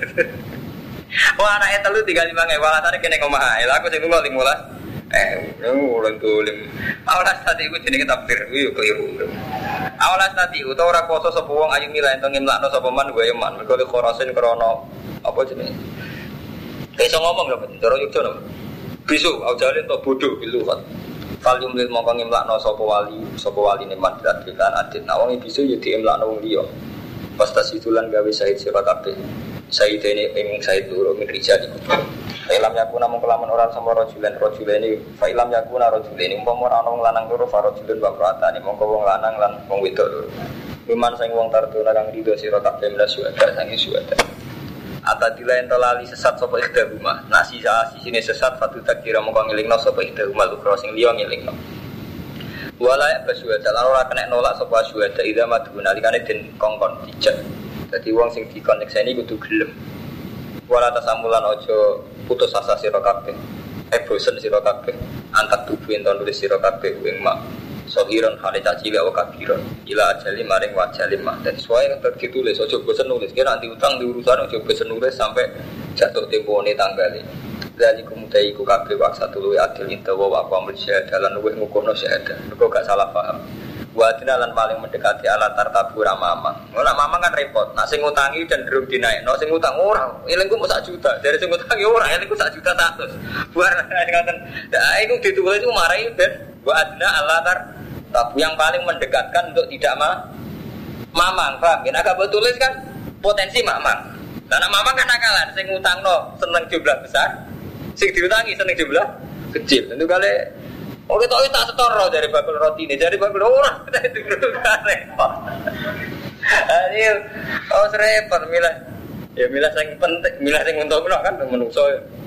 wah anaknya telu tinggal lima ewu alasannya kena ngomah aku sing tunggu lima belas ewu ulang tuh lim awalas tadi gue jenis tafsir gue keliru awalas tadi gue tau orang poso sepuang ayu milah entong imlakno sepeman gue yaman mereka khorasin krono apa jenis kayak so ngomong loh cara yukjo loh bisu au jalin to bodoh bilu kan kalium lil mongko ngimlakno sapa wali sapa wali neman dilan adit nawang bisu yo diimlakno wong liya pastas itulan gawe sahid sira kabeh sahid ini ing sahid loro min rijal iku Failam yakuna mung kelaman orang sama rojulen rojulen ini Failam yakuna rojulen ini umpama ora ana wong lanang loro farojulun wa pratane mongko wong lanang lan wong wedok loro Miman sing wong tardona kang rido sira kabeh mlas suwada sangi suwada Atadila ento lali sesat sapa ikhda rumah nasi sisine sesat fatu takira mongko ngelingno sapa ikhda rumah lukro sing liya ngelingno Wala basuwada lan ora kena nolak sapa suwada ida madu nalikane den kongkon dijak dadi wong sing dikonekseni kudu gelem Wala tasamulan ojo putus asa sira kabeh eh bosen sira kabeh antak tubuh ento nulis sira kabeh ing mak sohiron hale caci wa kabiron ila ajali maring wajali mah dan sesuai yang ditulis ojo bosen nulis kira nanti utang di urusan ojo bosen nulis sampai jatuh tempone tanggale dari kemudian iku kabeh waksa tulu adil intawa wa amul syahadah lan luwih ngukurno syahadah mergo gak salah paham wa lan paling mendekati ala tartabu ramamang ora mamang kan repot nak sing ngutangi dan durung dinaikno sing utang ora elingku mung sak juta dari sing ngutangi ora elingku sak juta seratus buar ngoten nah iku ditulis iku marai ben wa adna ala tartabu yang paling mendekatkan untuk tidak ma mamang paham yen agak tulis kan potensi mamang lah nak mamang kan akalan sing ngutangno seneng jumlah besar sing diutangi seneng jumlah kecil tentu kali oh kita tak setoro dari bakul roti ini, dari bakul orang kita itu kan repot. Ayo, oh repot milah, ya milah yang penting, milah yang untuk menang kan menungso.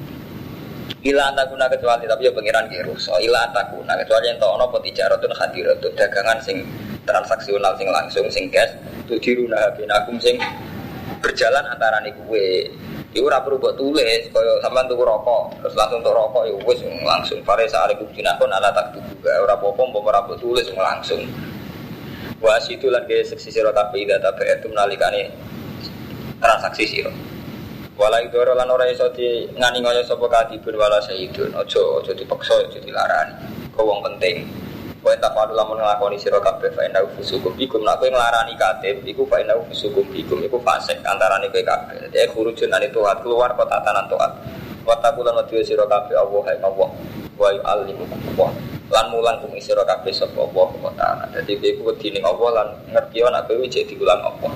Ilah antakuna kecuali tapi ya pengiran kirus. Oh ilah antakuna kecuali yang tahu nopo tijarotun hadiratun dagangan sing transaksional sing langsung sing cash, tu diruna binakum sing berjalan antara nikwe. Iku ora perlu mbok tulis kaya sampean tuku rokok terus langsung tuku rokok ya wis langsung pare sare kubinakon ala tak tuku ora apa-apa mbok ora mbok tulis langsung wasitu lan ge seksi sira kabeh data itu nalikane transaksi sira wala idoro lan ora iso di ngani ngoyo sapa kadibun wala sayyidun aja aja dipaksa aja dilarani kok wong penting kowe tak padha lamun nglakoni sira kabeh fa inna fusukum bikum nek kowe nglarani katib iku fa inna fusukum bikum iku fasik antarane kowe kabeh dadi khurujun ane taat keluar kota tanan taat wa taqulan wa sira kabeh Allah hai Allah wa yu'allimukum Allah lan mulang kum sira kabeh sapa Allah wa ta'ala dadi kowe wedine Allah lan ngerti ana kowe cek diulang Allah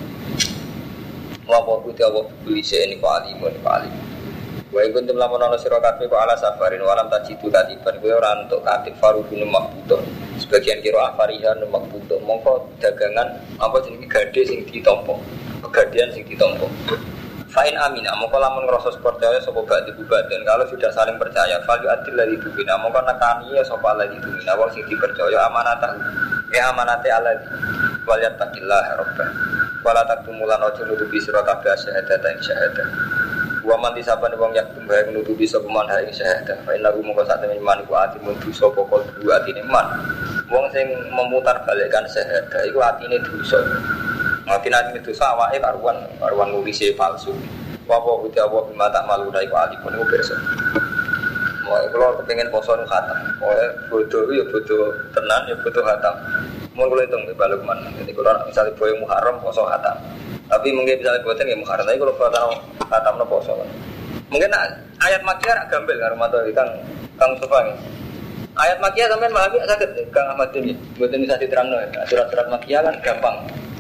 wa putih Allah bilise ini kok alimun alim wa iku tem lamun ana sira kabeh kok ala safarin walam tajidu katiban kowe ora entuk katib farubun makbutuh sebagian kira afarihan makbutuh mongko dagangan apa jenenge gade sing ditampa pegadian sing ditampa fa'in amina mongko lamun ngrasa percaya sapa badi bubadan kalau sudah saling percaya fal adil ladzi tubina mongko nekani ya sapa ladzi tubina wong sing dipercaya amanatah ya amanate alladzi wal yattaqillah rabbah wala taktumulan ojo nutupi sira kabeh syahadat ing syahadat wa man disaban wong yak tumbahe nutupi sapa man ing syahadat fa inna mongko sak temen iman iku ati mundu sapa kol dua atine iman wong sing memutar balikkan syahadat iku atine dosa atine atine dosa awake karuan karuan nulise palsu wa wa uta wa bima tak malu dai ku alipun iku pirsa mau kalau kepengin poso nu khatam oh bodoh ya bodoh tenan ya bodoh khatam mau kalau hitung balik mana jadi kalau misalnya boy Muharram poso khatam tapi mungkin misalnya buatan ya Muharram tapi kalau buatan khatam no poso mungkin ayat makkiyah agak gambel kan rumah tuh kang kang Mustafa ini ayat makkiyah sampai malah sakit kang Ahmad ini buatan bisa diterang no surat-surat makkiyah kan gampang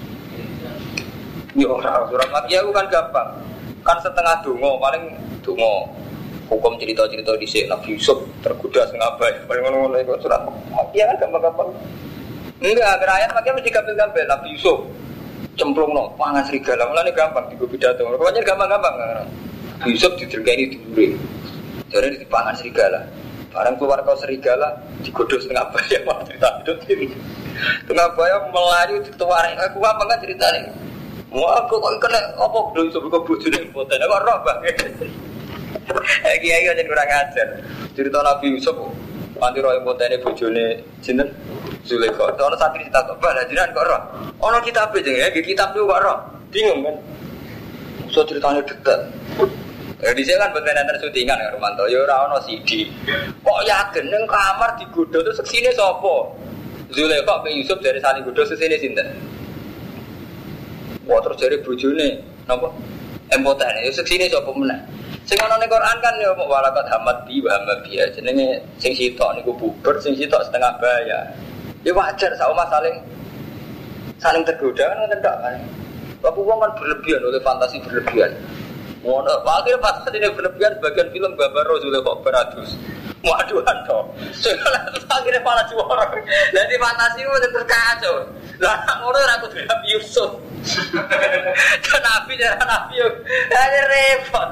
yo surat makkiyah kan gampang kan setengah dongo paling dongo hukum cerita-cerita di sini Nabi Yusuf tergoda setengah baik paling ngono-ngono itu surat makkiyah kan gampang-gampang enggak akhir ayat makkiyah mesti gampang-gampang Nabi Yusuf cemplung no pangan serigala mulane gampang digo pidato pokoknya gampang-gampang Nabi Yusuf didergani diure jare dipangan serigala barang keluar kau serigala digodho setengah baik malah cerita hidup ini setengah baik melayu dituare aku apa kan ceritane mau aku kok kena apa Nabi Yusuf kok bojone boten kok roh banget iki ayo jan kurang ajar. Cerita Nabi Yusuf kanthi roe potene bojone sinten? Zulaikha. Ono santri tak kok bal jenengan kok roh. Ono kitabe jenenge, nggih kitab niku kok roh. Bingung kan. Iso critane detek. Ya dhisik kan boten enten syutingan karo Romanto. Ya ora ono C D. Kok yakin ning kamar digodho terus seksine sapa? Zulaikha pe Yusuf dari saling godho sesine sinten? Wah terus jare bojone napa? Empotane ya seksine sapa meneh? Sing ana ning Quran kan ya walakat hamad bi wa hamad bi. Jenenge sing sitok niku bubar, sing sitok setengah bayar. Ya wajar sama saling saling tergoda kan ngoten tok kan. Bapak wong kan berlebihan oleh fantasi berlebihan. Ngono, akhirnya fantasi ini berlebihan bagian film gambar Rasulullah kok beratus. Waduhan toh. Soalnya akhirnya malah juara. Jadi fantasi itu terkacau. Lah ngono ora kudu Nabi Yusuf. Dan Nabi cara Nabi yo. Ada repot.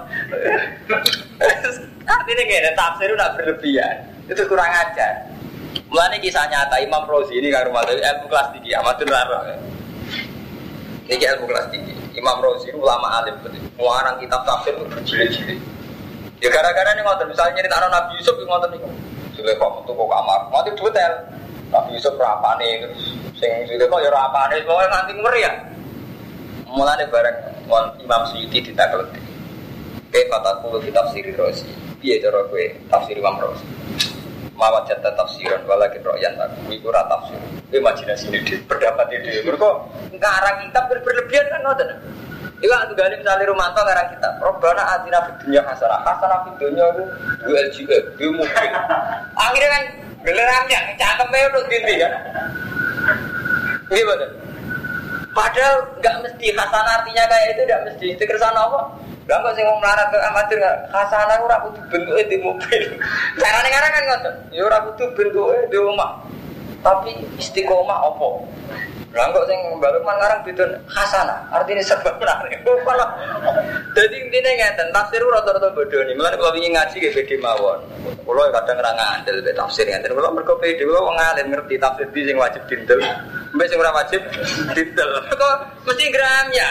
Artinya ngene tafsir udah berlebihan. Itu kurang ajar. Mulane kisah nyata Imam Rozi ini karo mate ilmu kelas tinggi amatun raro. Iki ilmu kelas tinggi. Imam Rozi ulama alim betul. Muarang kitab tafsir itu berjilid-jilid. Ya gara-gara nih ngoten misalnya nyeritakno Nabi Yusuf ngoten niku. Sulaiman metu kok kamar, mati detail. Nabi Yusuf rapane terus sing Sulaiman ya rapane pokoke nganti ngeri ya. Mulane bareng Imam Suyuti ditakel. Ke fataku kitab Siri Rozi. Piye cara kowe tafsir Imam Rozi? Mawat jatah tafsiran walakin ro'yan aku iku ora tafsir. Imajinasine dhewe, pendapat dhewe. Mergo ngarang kitab berlebihan kan ngoten. Iku aku gale misale Romanto ngarang kitab. Robbana atina fid dunya hasanah. Hasanah fid dunya iku dua L G E, dua mobil. Akhirnya kan geleramnya cangkeme udah dindi kan. Iya betul. Padahal enggak mesti hasanah artinya kayak itu enggak mesti. Itu kersane apa? Lah kok sing wong melarat ke amatir hasanah ora kudu bentuke di mobil. Carane ngarang kan ngoten. Ya ora kudu bentuke di omah. Tapi istiqomah apa? Lah kok sing baluk ngarang bidon hasanah, artine sebab menarik. Dadi intine ngeten, tafsir rada-rada bodho ni. Mulane kula wingi ngaji nggih bedhe mawon. Kula kadang ora ngandel be tafsir ngeten. Kula mergo bedhe kula wong alim ngerti tafsir di sing wajib dindel. Mbek sing ora wajib dindel. Kok mesti gramnya.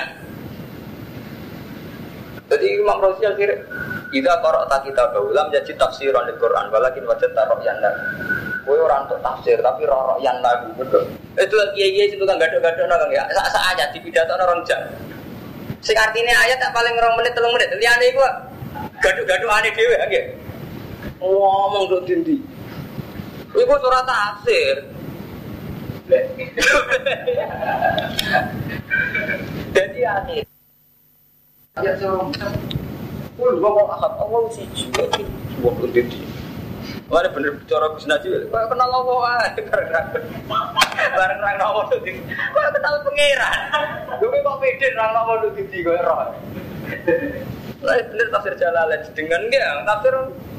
Jadi Imam Razi akhirnya idza qara'ta kitab ulam jadi tafsiran Al-Qur'an walakin wajadta ra'yan lahu. Kowe ora untuk tafsir tapi ra'yan lahu betul. Itu kiai-kiai itu kan gadok-gadok nang ya. Sak aja dipidatono rong jam. Sing artine ayat tak paling rong menit telung menit. Liyane iku gadok-gadokane dhewe nggih. Ngomong kok dindi. Iku ora tafsir. Jadi akhir ya so, pul gua mau akad awal sih juga sih, buat untuk dia. Mana bener bicara bisnis aja, kau kenal Allah ah, bareng orang awal tuh, kau kenal pangeran, gue kok pede orang awal tuh di gue roh. Lah bener tafsir Jalalain dengan dia, tafsir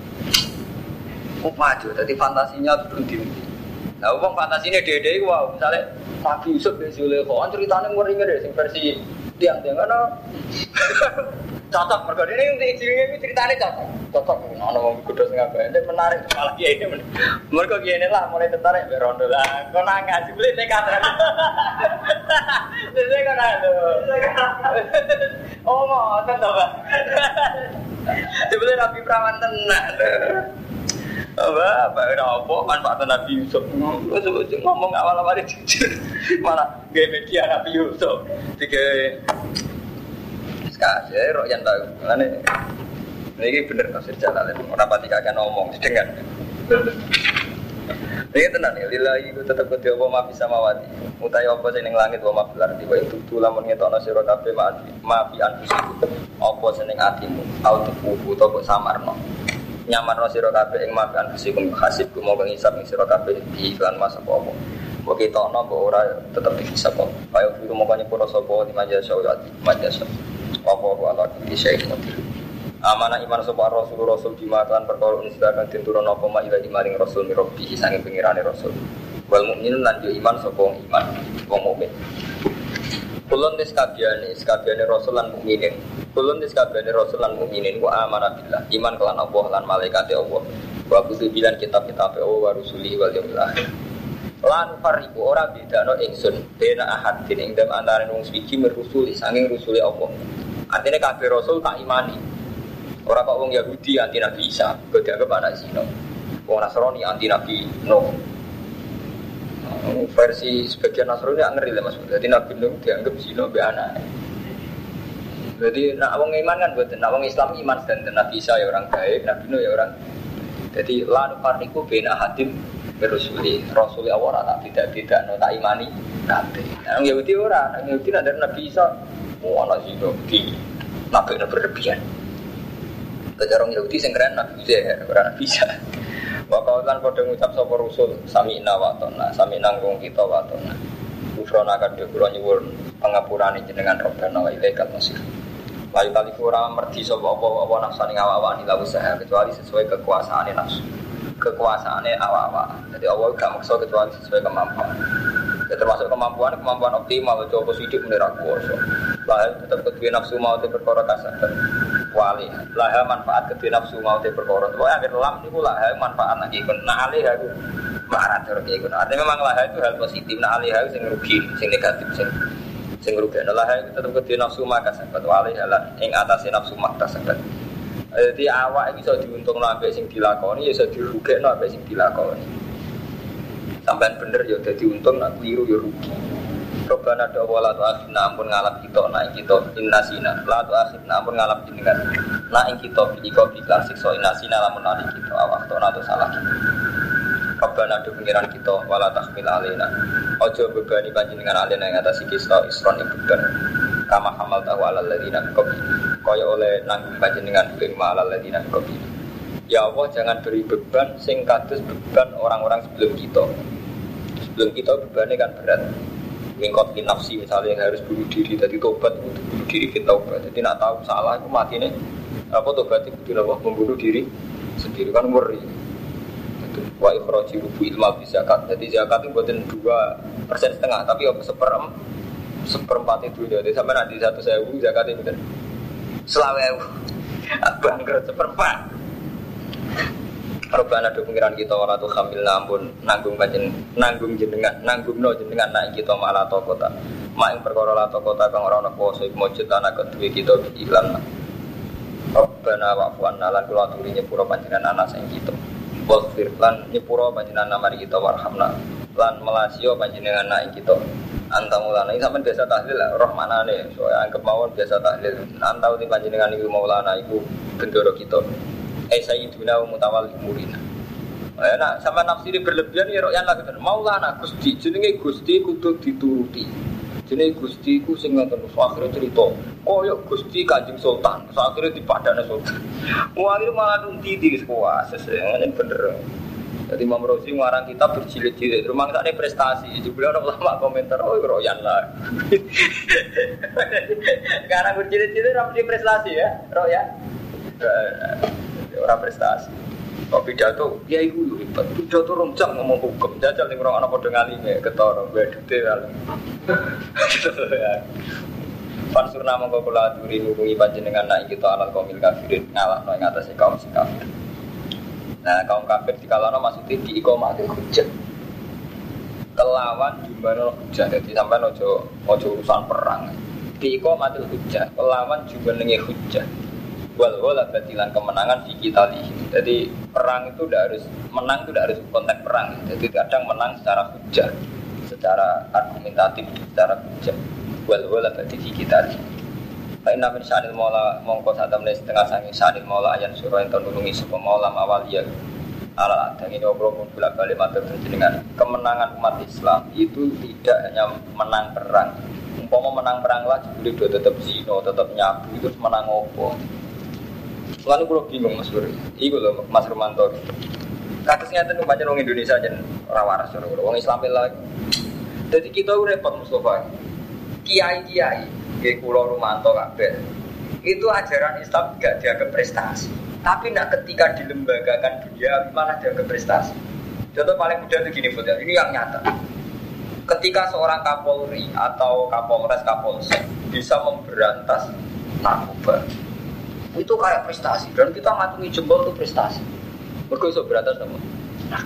upaju, tadi fantasinya berhenti. Nah, uang fantasinya dede wow, misalnya Nabi Yusuf bin Zulaikha, ceritanya ngeri-ngeri deh, sing versi tiang-tiang kan cocok mereka ini untuk izinnya ini ceritanya cocok cocok ada orang kudos nggak banyak menarik malah kiai ini mereka kiai ini lah mulai tertarik berondo lah kau nangis beli nekat saya kan ada oh mau tentu pak sebelum Nabi Perawan tenang apa apa udah apa manfaat Nabi Yusuf ngomong awal-awal jujur malah gaya media Nabi Yusuf tiga sekarang saya roh yang tahu mana ini bener tafsir Jalalain orang pati kakek ngomong sedengar ini tenang ya lillahi itu tetap kau tiap ma bisa mawati mutai apa sih neng langit wa ma bilar tiba itu tuh lamun ngetokno sira kabeh maafi anfusiku apa seneng atimu auto fufu to kok samarno nyamarno sira kabeh ing makan fisikum hasib ku monggo ngisap ing sira kabeh di iklan mas apa apa kok ketokno kok ora tetep dihisab kok kaya kuwi monggo nyepuro sapa di majas sauyati majas apa-apa ala bisa iki amanah iman sapa rasul rasul dimakan perkara unsidakan tinturon apa mak ila maring rasul mirabbi sange pengirane rasul wal mukminun lan yo iman sapa iman wong mukmin kulun des kabehane kabehane rasul lan mukminin kulun des kabehane rasul lan mukminin wa amanah billah iman kelan Allah lan malaikate Allah wa kutubilan kitab-kitab Allah wa rusuli wal yaumil akhir lan fariqu ora bedano ingsun bena ahad ing dalem antarané wong suci merusuli sanging rusuli Allah artinya kabeh rasul tak imani. Ora kok wong Yahudi anti Nabi Isa, kok dianggap anak zina. Wong Nasrani anti Nabi Nuh. Versi sebagian Nasrani gak ngeri lah Mas. Jadi Nabi Nuh dianggap zina be anak. Jadi nak wong iman kan mboten, nak wong Islam iman dan Nabi Isa ya orang baik, Nabi Nuh ya orang. Jadi la nufarriqu baina hadim berusuli. Rasul Allah tak tidak-tidak no tak imani kabeh. Nah Yahudi ora, Yahudi nak dari Nabi Isa oh anak zina di nabi berlebihan. Kejarong Yahudi sing keren Nabi Uzair, ora bisa. Wakau kan padha ngucap sapa Rasul, sami'na wa ta'na, sami'na nggung kita wa ta'na. Ufrona kadhe kula nyuwun pangapurane jenengan Rabbana wa ilaikal masir. Layu kali kurang merdi sapa apa-apa nafsane awak-awak ila usaha kecuali sesuai kekuasaane nafsu. Kekuasaane awak-awak. Jadi Allah gak maksa kecuali sesuai kemampuan. Ya termasuk kemampuan kemampuan optimal coba sidik menira kuwasa. Lah tetep kedue nafsu mau te perkara kasabat. Wali lah manfaat kedue nafsu mau te perkara. Pokoke akhir lam niku lah manfaat lagi kena alih aku. Marah terus iku. Artinya memang lah itu hal positif, nah alih sing rugi, sing negatif sing sing rugi. Lah itu tetep kedue nafsu maka sabat wali halan ing atase nafsu makta sabat. Jadi awak iso diuntungno ambek sing dilakoni ya iso dirugekno ambek sing dilakoni. Sampai bener ya dadi untung, nak keliru ya rugi. Robana do wala tu akhirna ampun ngalap kita naik kita innasina. La tu akhirna ampun ngalap jenengan. Naik kita biko biklan siksa innasina lamun ali kita awak to nato salah kita. Robana do pengiran kita wala tahmil alaina. Ojo bebani panjenengan alena ing atas kita isron ing beban. Kama hamal tahu alal ladina qabil. Kaya oleh nanggung panjenengan ing ma'alal ladina qabil. Ya Allah jangan beri beban sing kados beban orang-orang sebelum kita. Sebelum kita bebannya kan berat. Mingkot nafsi misalnya yang harus bunuh diri, tadi tobat untuk bunuh diri kita tobat. Jadi nak tahu salah aku mati nih. Apa tobat itu apa membunuh diri sendiri kan ngeri. Itu wa ikhraji rubu ilma fi zakat. Jadi zakat itu buatin dua persen setengah, tapi apa seperem seperempat itu jadi sampai nanti satu sewu zakat itu bener. Selawe bangkrut seperempat. Robana do pengiran kita ora tu khamil ampun nanggung panjen nanggung jenengan nanggungno jenengan naik kita malah to kota mak ing perkara la to kota kang ora ana kuwasa iku mujud ana kedue kita iklan. Robana wa fu'anna lan kula aturi nyepuro panjenengan ana sing kita wasfir lan nyepuro panjenengan mari kita warhamna lan melasio panjenengan naik kita antamulana iki sampean biasa tahlil rahmanane so anggap mawon biasa tahlil antau di panjenengan iku maulana iku bendoro kita. Eh sayyiduna wa mutawalli umurina. Eh nak sama nafsiri berlebihan ya royan lagi kan. Maulana Gusti jenenge Gusti kudu dituruti. Jenenge Gusti ku sing ngoten akhire cerita. Kaya Gusti Kanjeng Sultan. Akhire dipadane sultan. Wali malah nunti di sekolah sesene bener. Jadi Imam Rosi ngarang kitab berjilid-jilid. Rumah sakne prestasi. Jebule ana ulama komentar oh royan lah. Karena berjilid-jilid ra prestasi ya, royan. Orang prestasi. Kok pidato, ya iku lho hebat. Pidato rong jam ngomong hukum. Jajal ning ora ana padha ngalime ketara wedhute wae. Pansurna mongko kula aturi nulungi panjenengan nek kita alal kaumil kafirin ngalahno ing atase kaum sing kafir. Nah, kaum kafir dikalano maksudnya di iqamatul hujjah. Kelawan jumlah hujjah. Jadi sampean aja aja urusan perang. Di iqamatul hujjah, kelawan jumlahe hujjah. Wal wala batilan kemenangan di kita li. Jadi perang itu tidak harus menang itu tidak harus konteks perang. Jadi kadang menang secara hujjah, secara argumentatif, secara hujjah. Wal wala bati di kita li. Baik namin sanil maula mongko satam les setengah sangi sanil maula ayan surah yang terdulungi supaya maula awaliyah. Ala adang ini obrol pun bolak balik matur dengan kemenangan umat Islam itu tidak hanya menang perang. Umpama menang perang lah, jadi dia tetap zino, tetap nyabu itu menang opo. Lalu kalau bingung Mas Bro, itu loh Mas Romanto. Kasusnya itu baca orang Indonesia aja rawaras orang Islam lagi. Jadi kita repot Mustafa. Kiai kiai, kayak Pulau Romanto kabeh. Itu ajaran Islam tidak dianggap prestasi. Tapi nak ketika dilembagakan dunia malah dianggap prestasi. Contoh paling mudah itu gini Bro, ini yang nyata. Ketika seorang Kapolri atau Kapolres Kapolsek bisa memberantas narkoba. Itu kayak prestasi dan kita ngatungi jempol itu prestasi. Mergo iso berantas sama. Nah.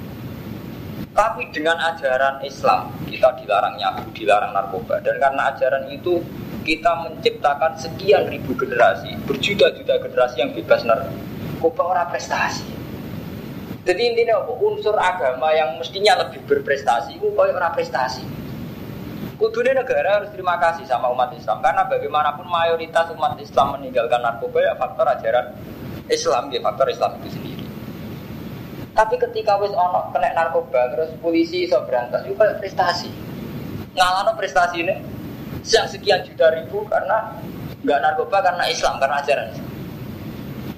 Tapi dengan ajaran Islam kita dilarang nyabu, dilarang narkoba dan karena ajaran itu kita menciptakan sekian ribu generasi, berjuta-juta generasi yang bebas narkoba ora prestasi. Jadi intinya apa? Unsur agama yang mestinya lebih berprestasi itu koyo ora prestasi. Kudune negara harus terima kasih sama umat Islam karena bagaimanapun mayoritas umat Islam meninggalkan narkoba ya faktor ajaran Islam, ya faktor Islam itu sendiri. Tapi ketika wis ono kena narkoba terus polisi iso berantas itu kayak prestasi. Ngalano prestasi ini yang sekian juta ribu karena enggak narkoba karena Islam, karena ajaran Islam.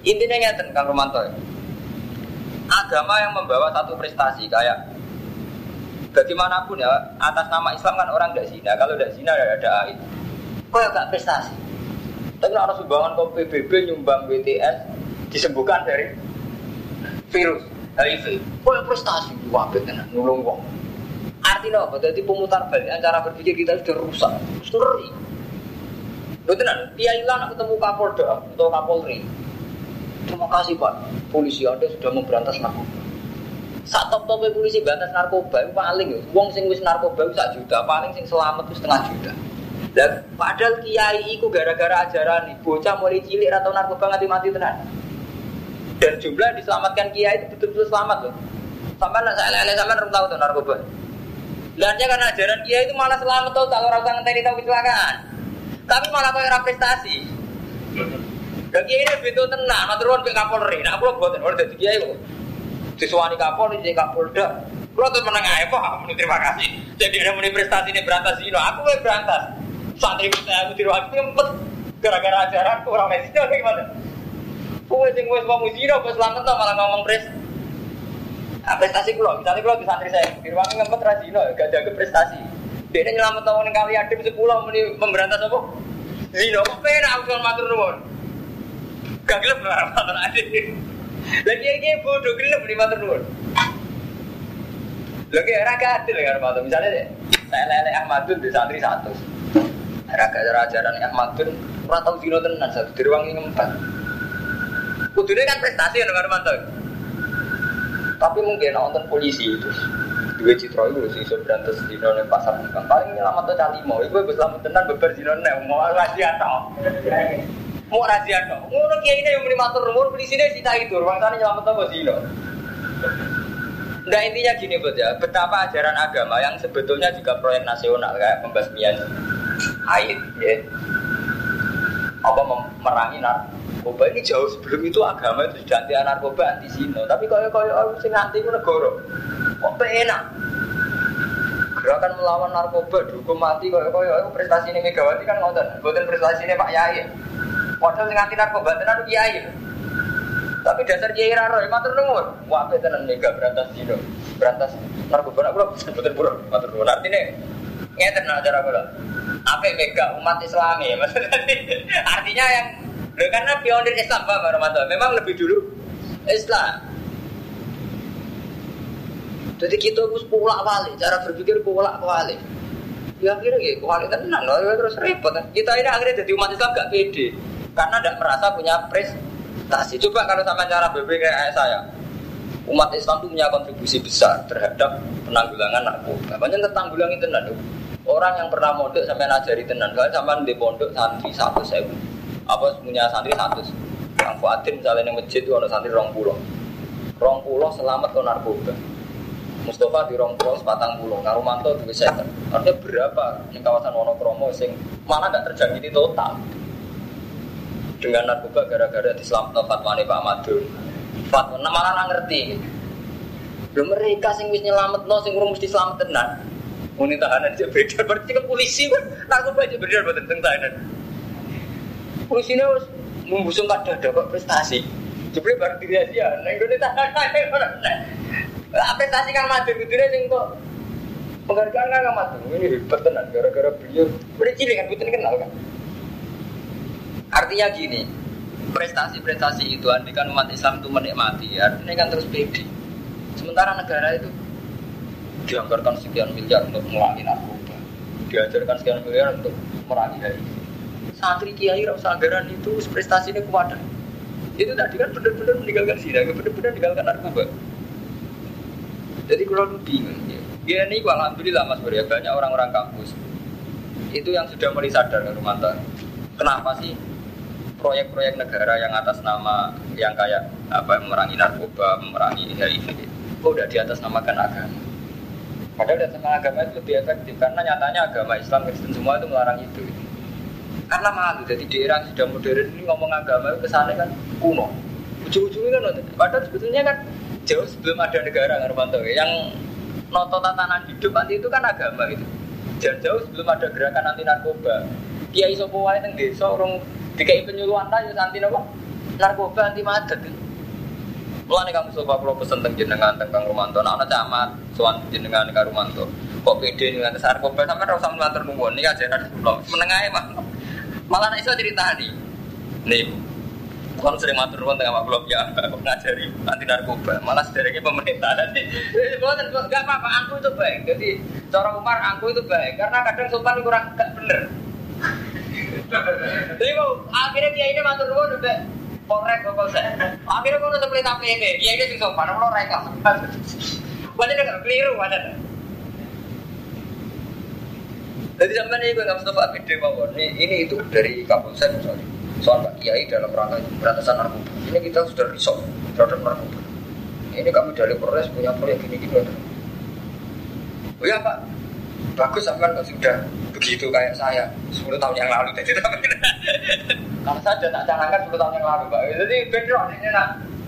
Intinya ngeten Kang Romanto. Agama yang membawa satu prestasi kayak bagaimanapun ya, atas nama Islam kan orang tidak zina. Kalau tidak zina ya ada aib. Kok ya gak prestasi? Tapi harus sumbangan ke P B B nyumbang B T S disembuhkan dari virus H I V. Kok ya prestasi? Wabit tenan nulung wong. Artinya apa? Jadi pemutar balik cara berpikir kita sudah rusak. Ngeri. Betul kan? Kiai lah ketemu Kapolda atau Kapolri. Terima kasih Pak, polisi Anda sudah memberantas narkoba. Saat top-top polisi berantas narkoba itu paling ya, wong sing wis narkoba itu satu juta, paling sing selamat itu setengah juta. Dan padahal kiai itu gara-gara ajaran bocah mulai cilik atau narkoba mati-mati tenan. Dan jumlah diselamatkan kiai itu betul-betul selamat loh. Sampai nak saya lele sampai orang tahu tuh narkoba. Lainnya karena ajaran kiai itu malah selamat tuh, kalau orang ngenteni tahu kecelakaan. Tapi malah kau yang prestasi. Dan kiai ini betul tenang, matur nuwun ke Kapolri. Nah, aku buatin orang dari kiai kok. Disuwani Kapolri, jadi Kapolda. Kalau tuh menengah ya, Pak, terima kasih. Jadi ada muni prestasi ini berantas ini, aku mau berantas. Santri saya aku tiru aku ngempet gara-gara ajaran kurang mesino gimana? Kowe sing wis wong zina kok selamat to malah ngomong pres. Ah prestasi kula, misalnya kula di santri saya, tiru aku ngempet ra zina, gak jaga prestasi. Dene nyelamet wong ning kali adem sepuluh muni memberantas apa? Zina kok penak aku matur nuwun. Gak gelem matur adem. Lagi iki bodoh gelem di matur nuwun. Lagi era kadil kan matur, misalnya saya lele Ahmadun di santri satu. Raga ajaran Ahmadun ora tau dino tenan satu diruangi ngempet. Kudune kan prestasi ya Romanto. Tapi mungkin nonton polisi itu dua citra itu sing iso berantas dino ning pasar bukan paling nyelamat to calimo. Iku wis selamat tenan beber dino nek mau rahasia to. Mau rahasia to. Ngono kiai ini yang muni matur nuwun polisine sita itu, ruangane nyelamat to dino. Nah intinya gini buat ya, betapa ajaran agama yang sebetulnya juga proyek nasional kayak pembasmian haid, ya, apa memerangi narkoba ini jauh sebelum itu agama itu sudah anti narkoba, anti zina. Tapi kalau kalau orang sing anti itu negara, kok enak? Gerakan melawan narkoba dihukum mati, kalau kalau prestasi ini Megawati kan ngotot, bukan prestasi ini Pak Yai. Padahal sing anti narkoba tenan Kiai. Tapi dasar kiai raro, matur nuwun. Wah, tenan mega berantas dino, berantas narkoba. Aku lho sebuten pura, matur nuwun. Artine ngeten acara kula. Ape mega umat Islam ya, maksudnya. Artinya yang lho karena pionir Islam Pak Romanto, memang lebih dulu Islam. Jadi kita harus pulak balik, cara berpikir pulak balik. Ya akhirnya gitu, kualitas tenan loh, terus repot. Kita ini akhirnya jadi umat Islam gak pede, karena tidak merasa punya prestasi. Coba kalau sama cara berpikir kayak saya, umat Islam itu punya kontribusi besar terhadap penanggulangan narkoba. Banyak tertanggulangi tenan. Orang yang pernah mondok sampai ngajari tenan, kalau sampai di pondok santri satu sewu, apa punya santri satu. Yang Fuadin misalnya yang masjid itu ada santri rong pulau, rong pulau selamat ke narkoba. Mustafa di rong pulau sepatang pulau, Karumanto di Seken. Artinya berapa di kawasan Wonokromo sing mana nggak terjangkiti total dengan narkoba gara-gara diselamatkan fatwane Pak Madun. Fatwa malah nggak ngerti. Lho mereka sing wis nyelametno sing urung mesti selamat tenan. Muni tahanan aja beredar berarti kan polisi kan narkoba aja beredar mboten teng tahanan. Polisine wis membusungkan dada kok prestasi. Jebule bar dirahasia nang ngene tahanan. Lah prestasi Kang Madun kudune sing kok penghargaan Kang Madun ini hebat tenan gara-gara beliau. Udah cilik kan mboten kenal kan. Artinya gini, prestasi-prestasi itu andikan umat Islam itu menikmati, artinya kan terus pede. Sementara negara itu dianggarkan sekian miliar untuk memerangi narkoba, diajarkan sekian miliar untuk memerangi H I V. Santri kiai rasa anggaran itu prestasinya kuat. Itu tadi kan benar-benar meninggalkan zina, benar-benar meninggalkan narkoba. Jadi kalau bingung, ya ini alhamdulillah Mas Bro, banyak orang-orang kampus itu yang sudah mulai sadar ke rumah tangga. Kenapa sih proyek-proyek negara yang atas nama yang kayak apa memerangi narkoba, memerangi H I V itu udah di atas namakan agama. Padahal di atas nama agama itu lebih efektif karena nyatanya agama Islam Kristen semua itu melarang itu. Karena malu jadi di era sudah modern ini ngomong agama itu kesannya kan kuno. Ujung-ujungnya kan padahal sebetulnya kan jauh sebelum ada negara Romanto yang noto tatanan hidup nanti itu kan agama itu. Jauh-jauh sebelum ada gerakan anti narkoba. Kiai sapa wae teng desa urung dikai penyuluhan ta yo anti napa? narkoba anti madet. Mulane kamu coba kula pesen teng jenengan teng Kang Romanto, ana camat sowan jenengan Kang Romanto. Kok pede dengan narkoba sampean ora usah matur nuwun iki ajaran kula. Meneng ae mah. Malah nek iso critani. Nih. Kalau sering matur nuwun teng awak kula ya ngajari anti narkoba. Malah sederenge pemerintah nanti. Boten enggak apa-apa, angku itu baik. Jadi cara Umar angku itu baik karena kadang sultan kurang enggak bener. Jadi akhirnya dia ini matur nuwun udah korek kok saya. Akhirnya kok udah beli tape ini. Dia ini sing sopan, lo reka. Padahal enggak keliru padahal. Jadi sampai ini gue nggak Mustafa video mawon. Ini ini itu dari Kapolsek misalnya. Soal Pak Kiai dalam rangka pemberantasan narkoba. Ini kita sudah risau terhadap narkoba. Ini kami dari Polres punya proyek gini-gini. Oh ya Pak, bagus sampai kalau sudah begitu kayak saya sepuluh tahun yang lalu. Jadi kalau saja tak canangkan sepuluh tahun yang lalu Pak. Jadi beda ini nak.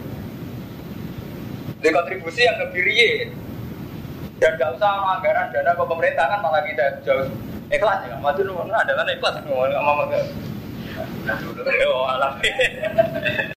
Di kontribusi yang lebih real. Dan gak usah anggaran dana ke pemerintah kan malah kita jauh ikhlas ya. Maju nomor adalah ikhlas ngomong sama mama. Nah, dulu oh alami.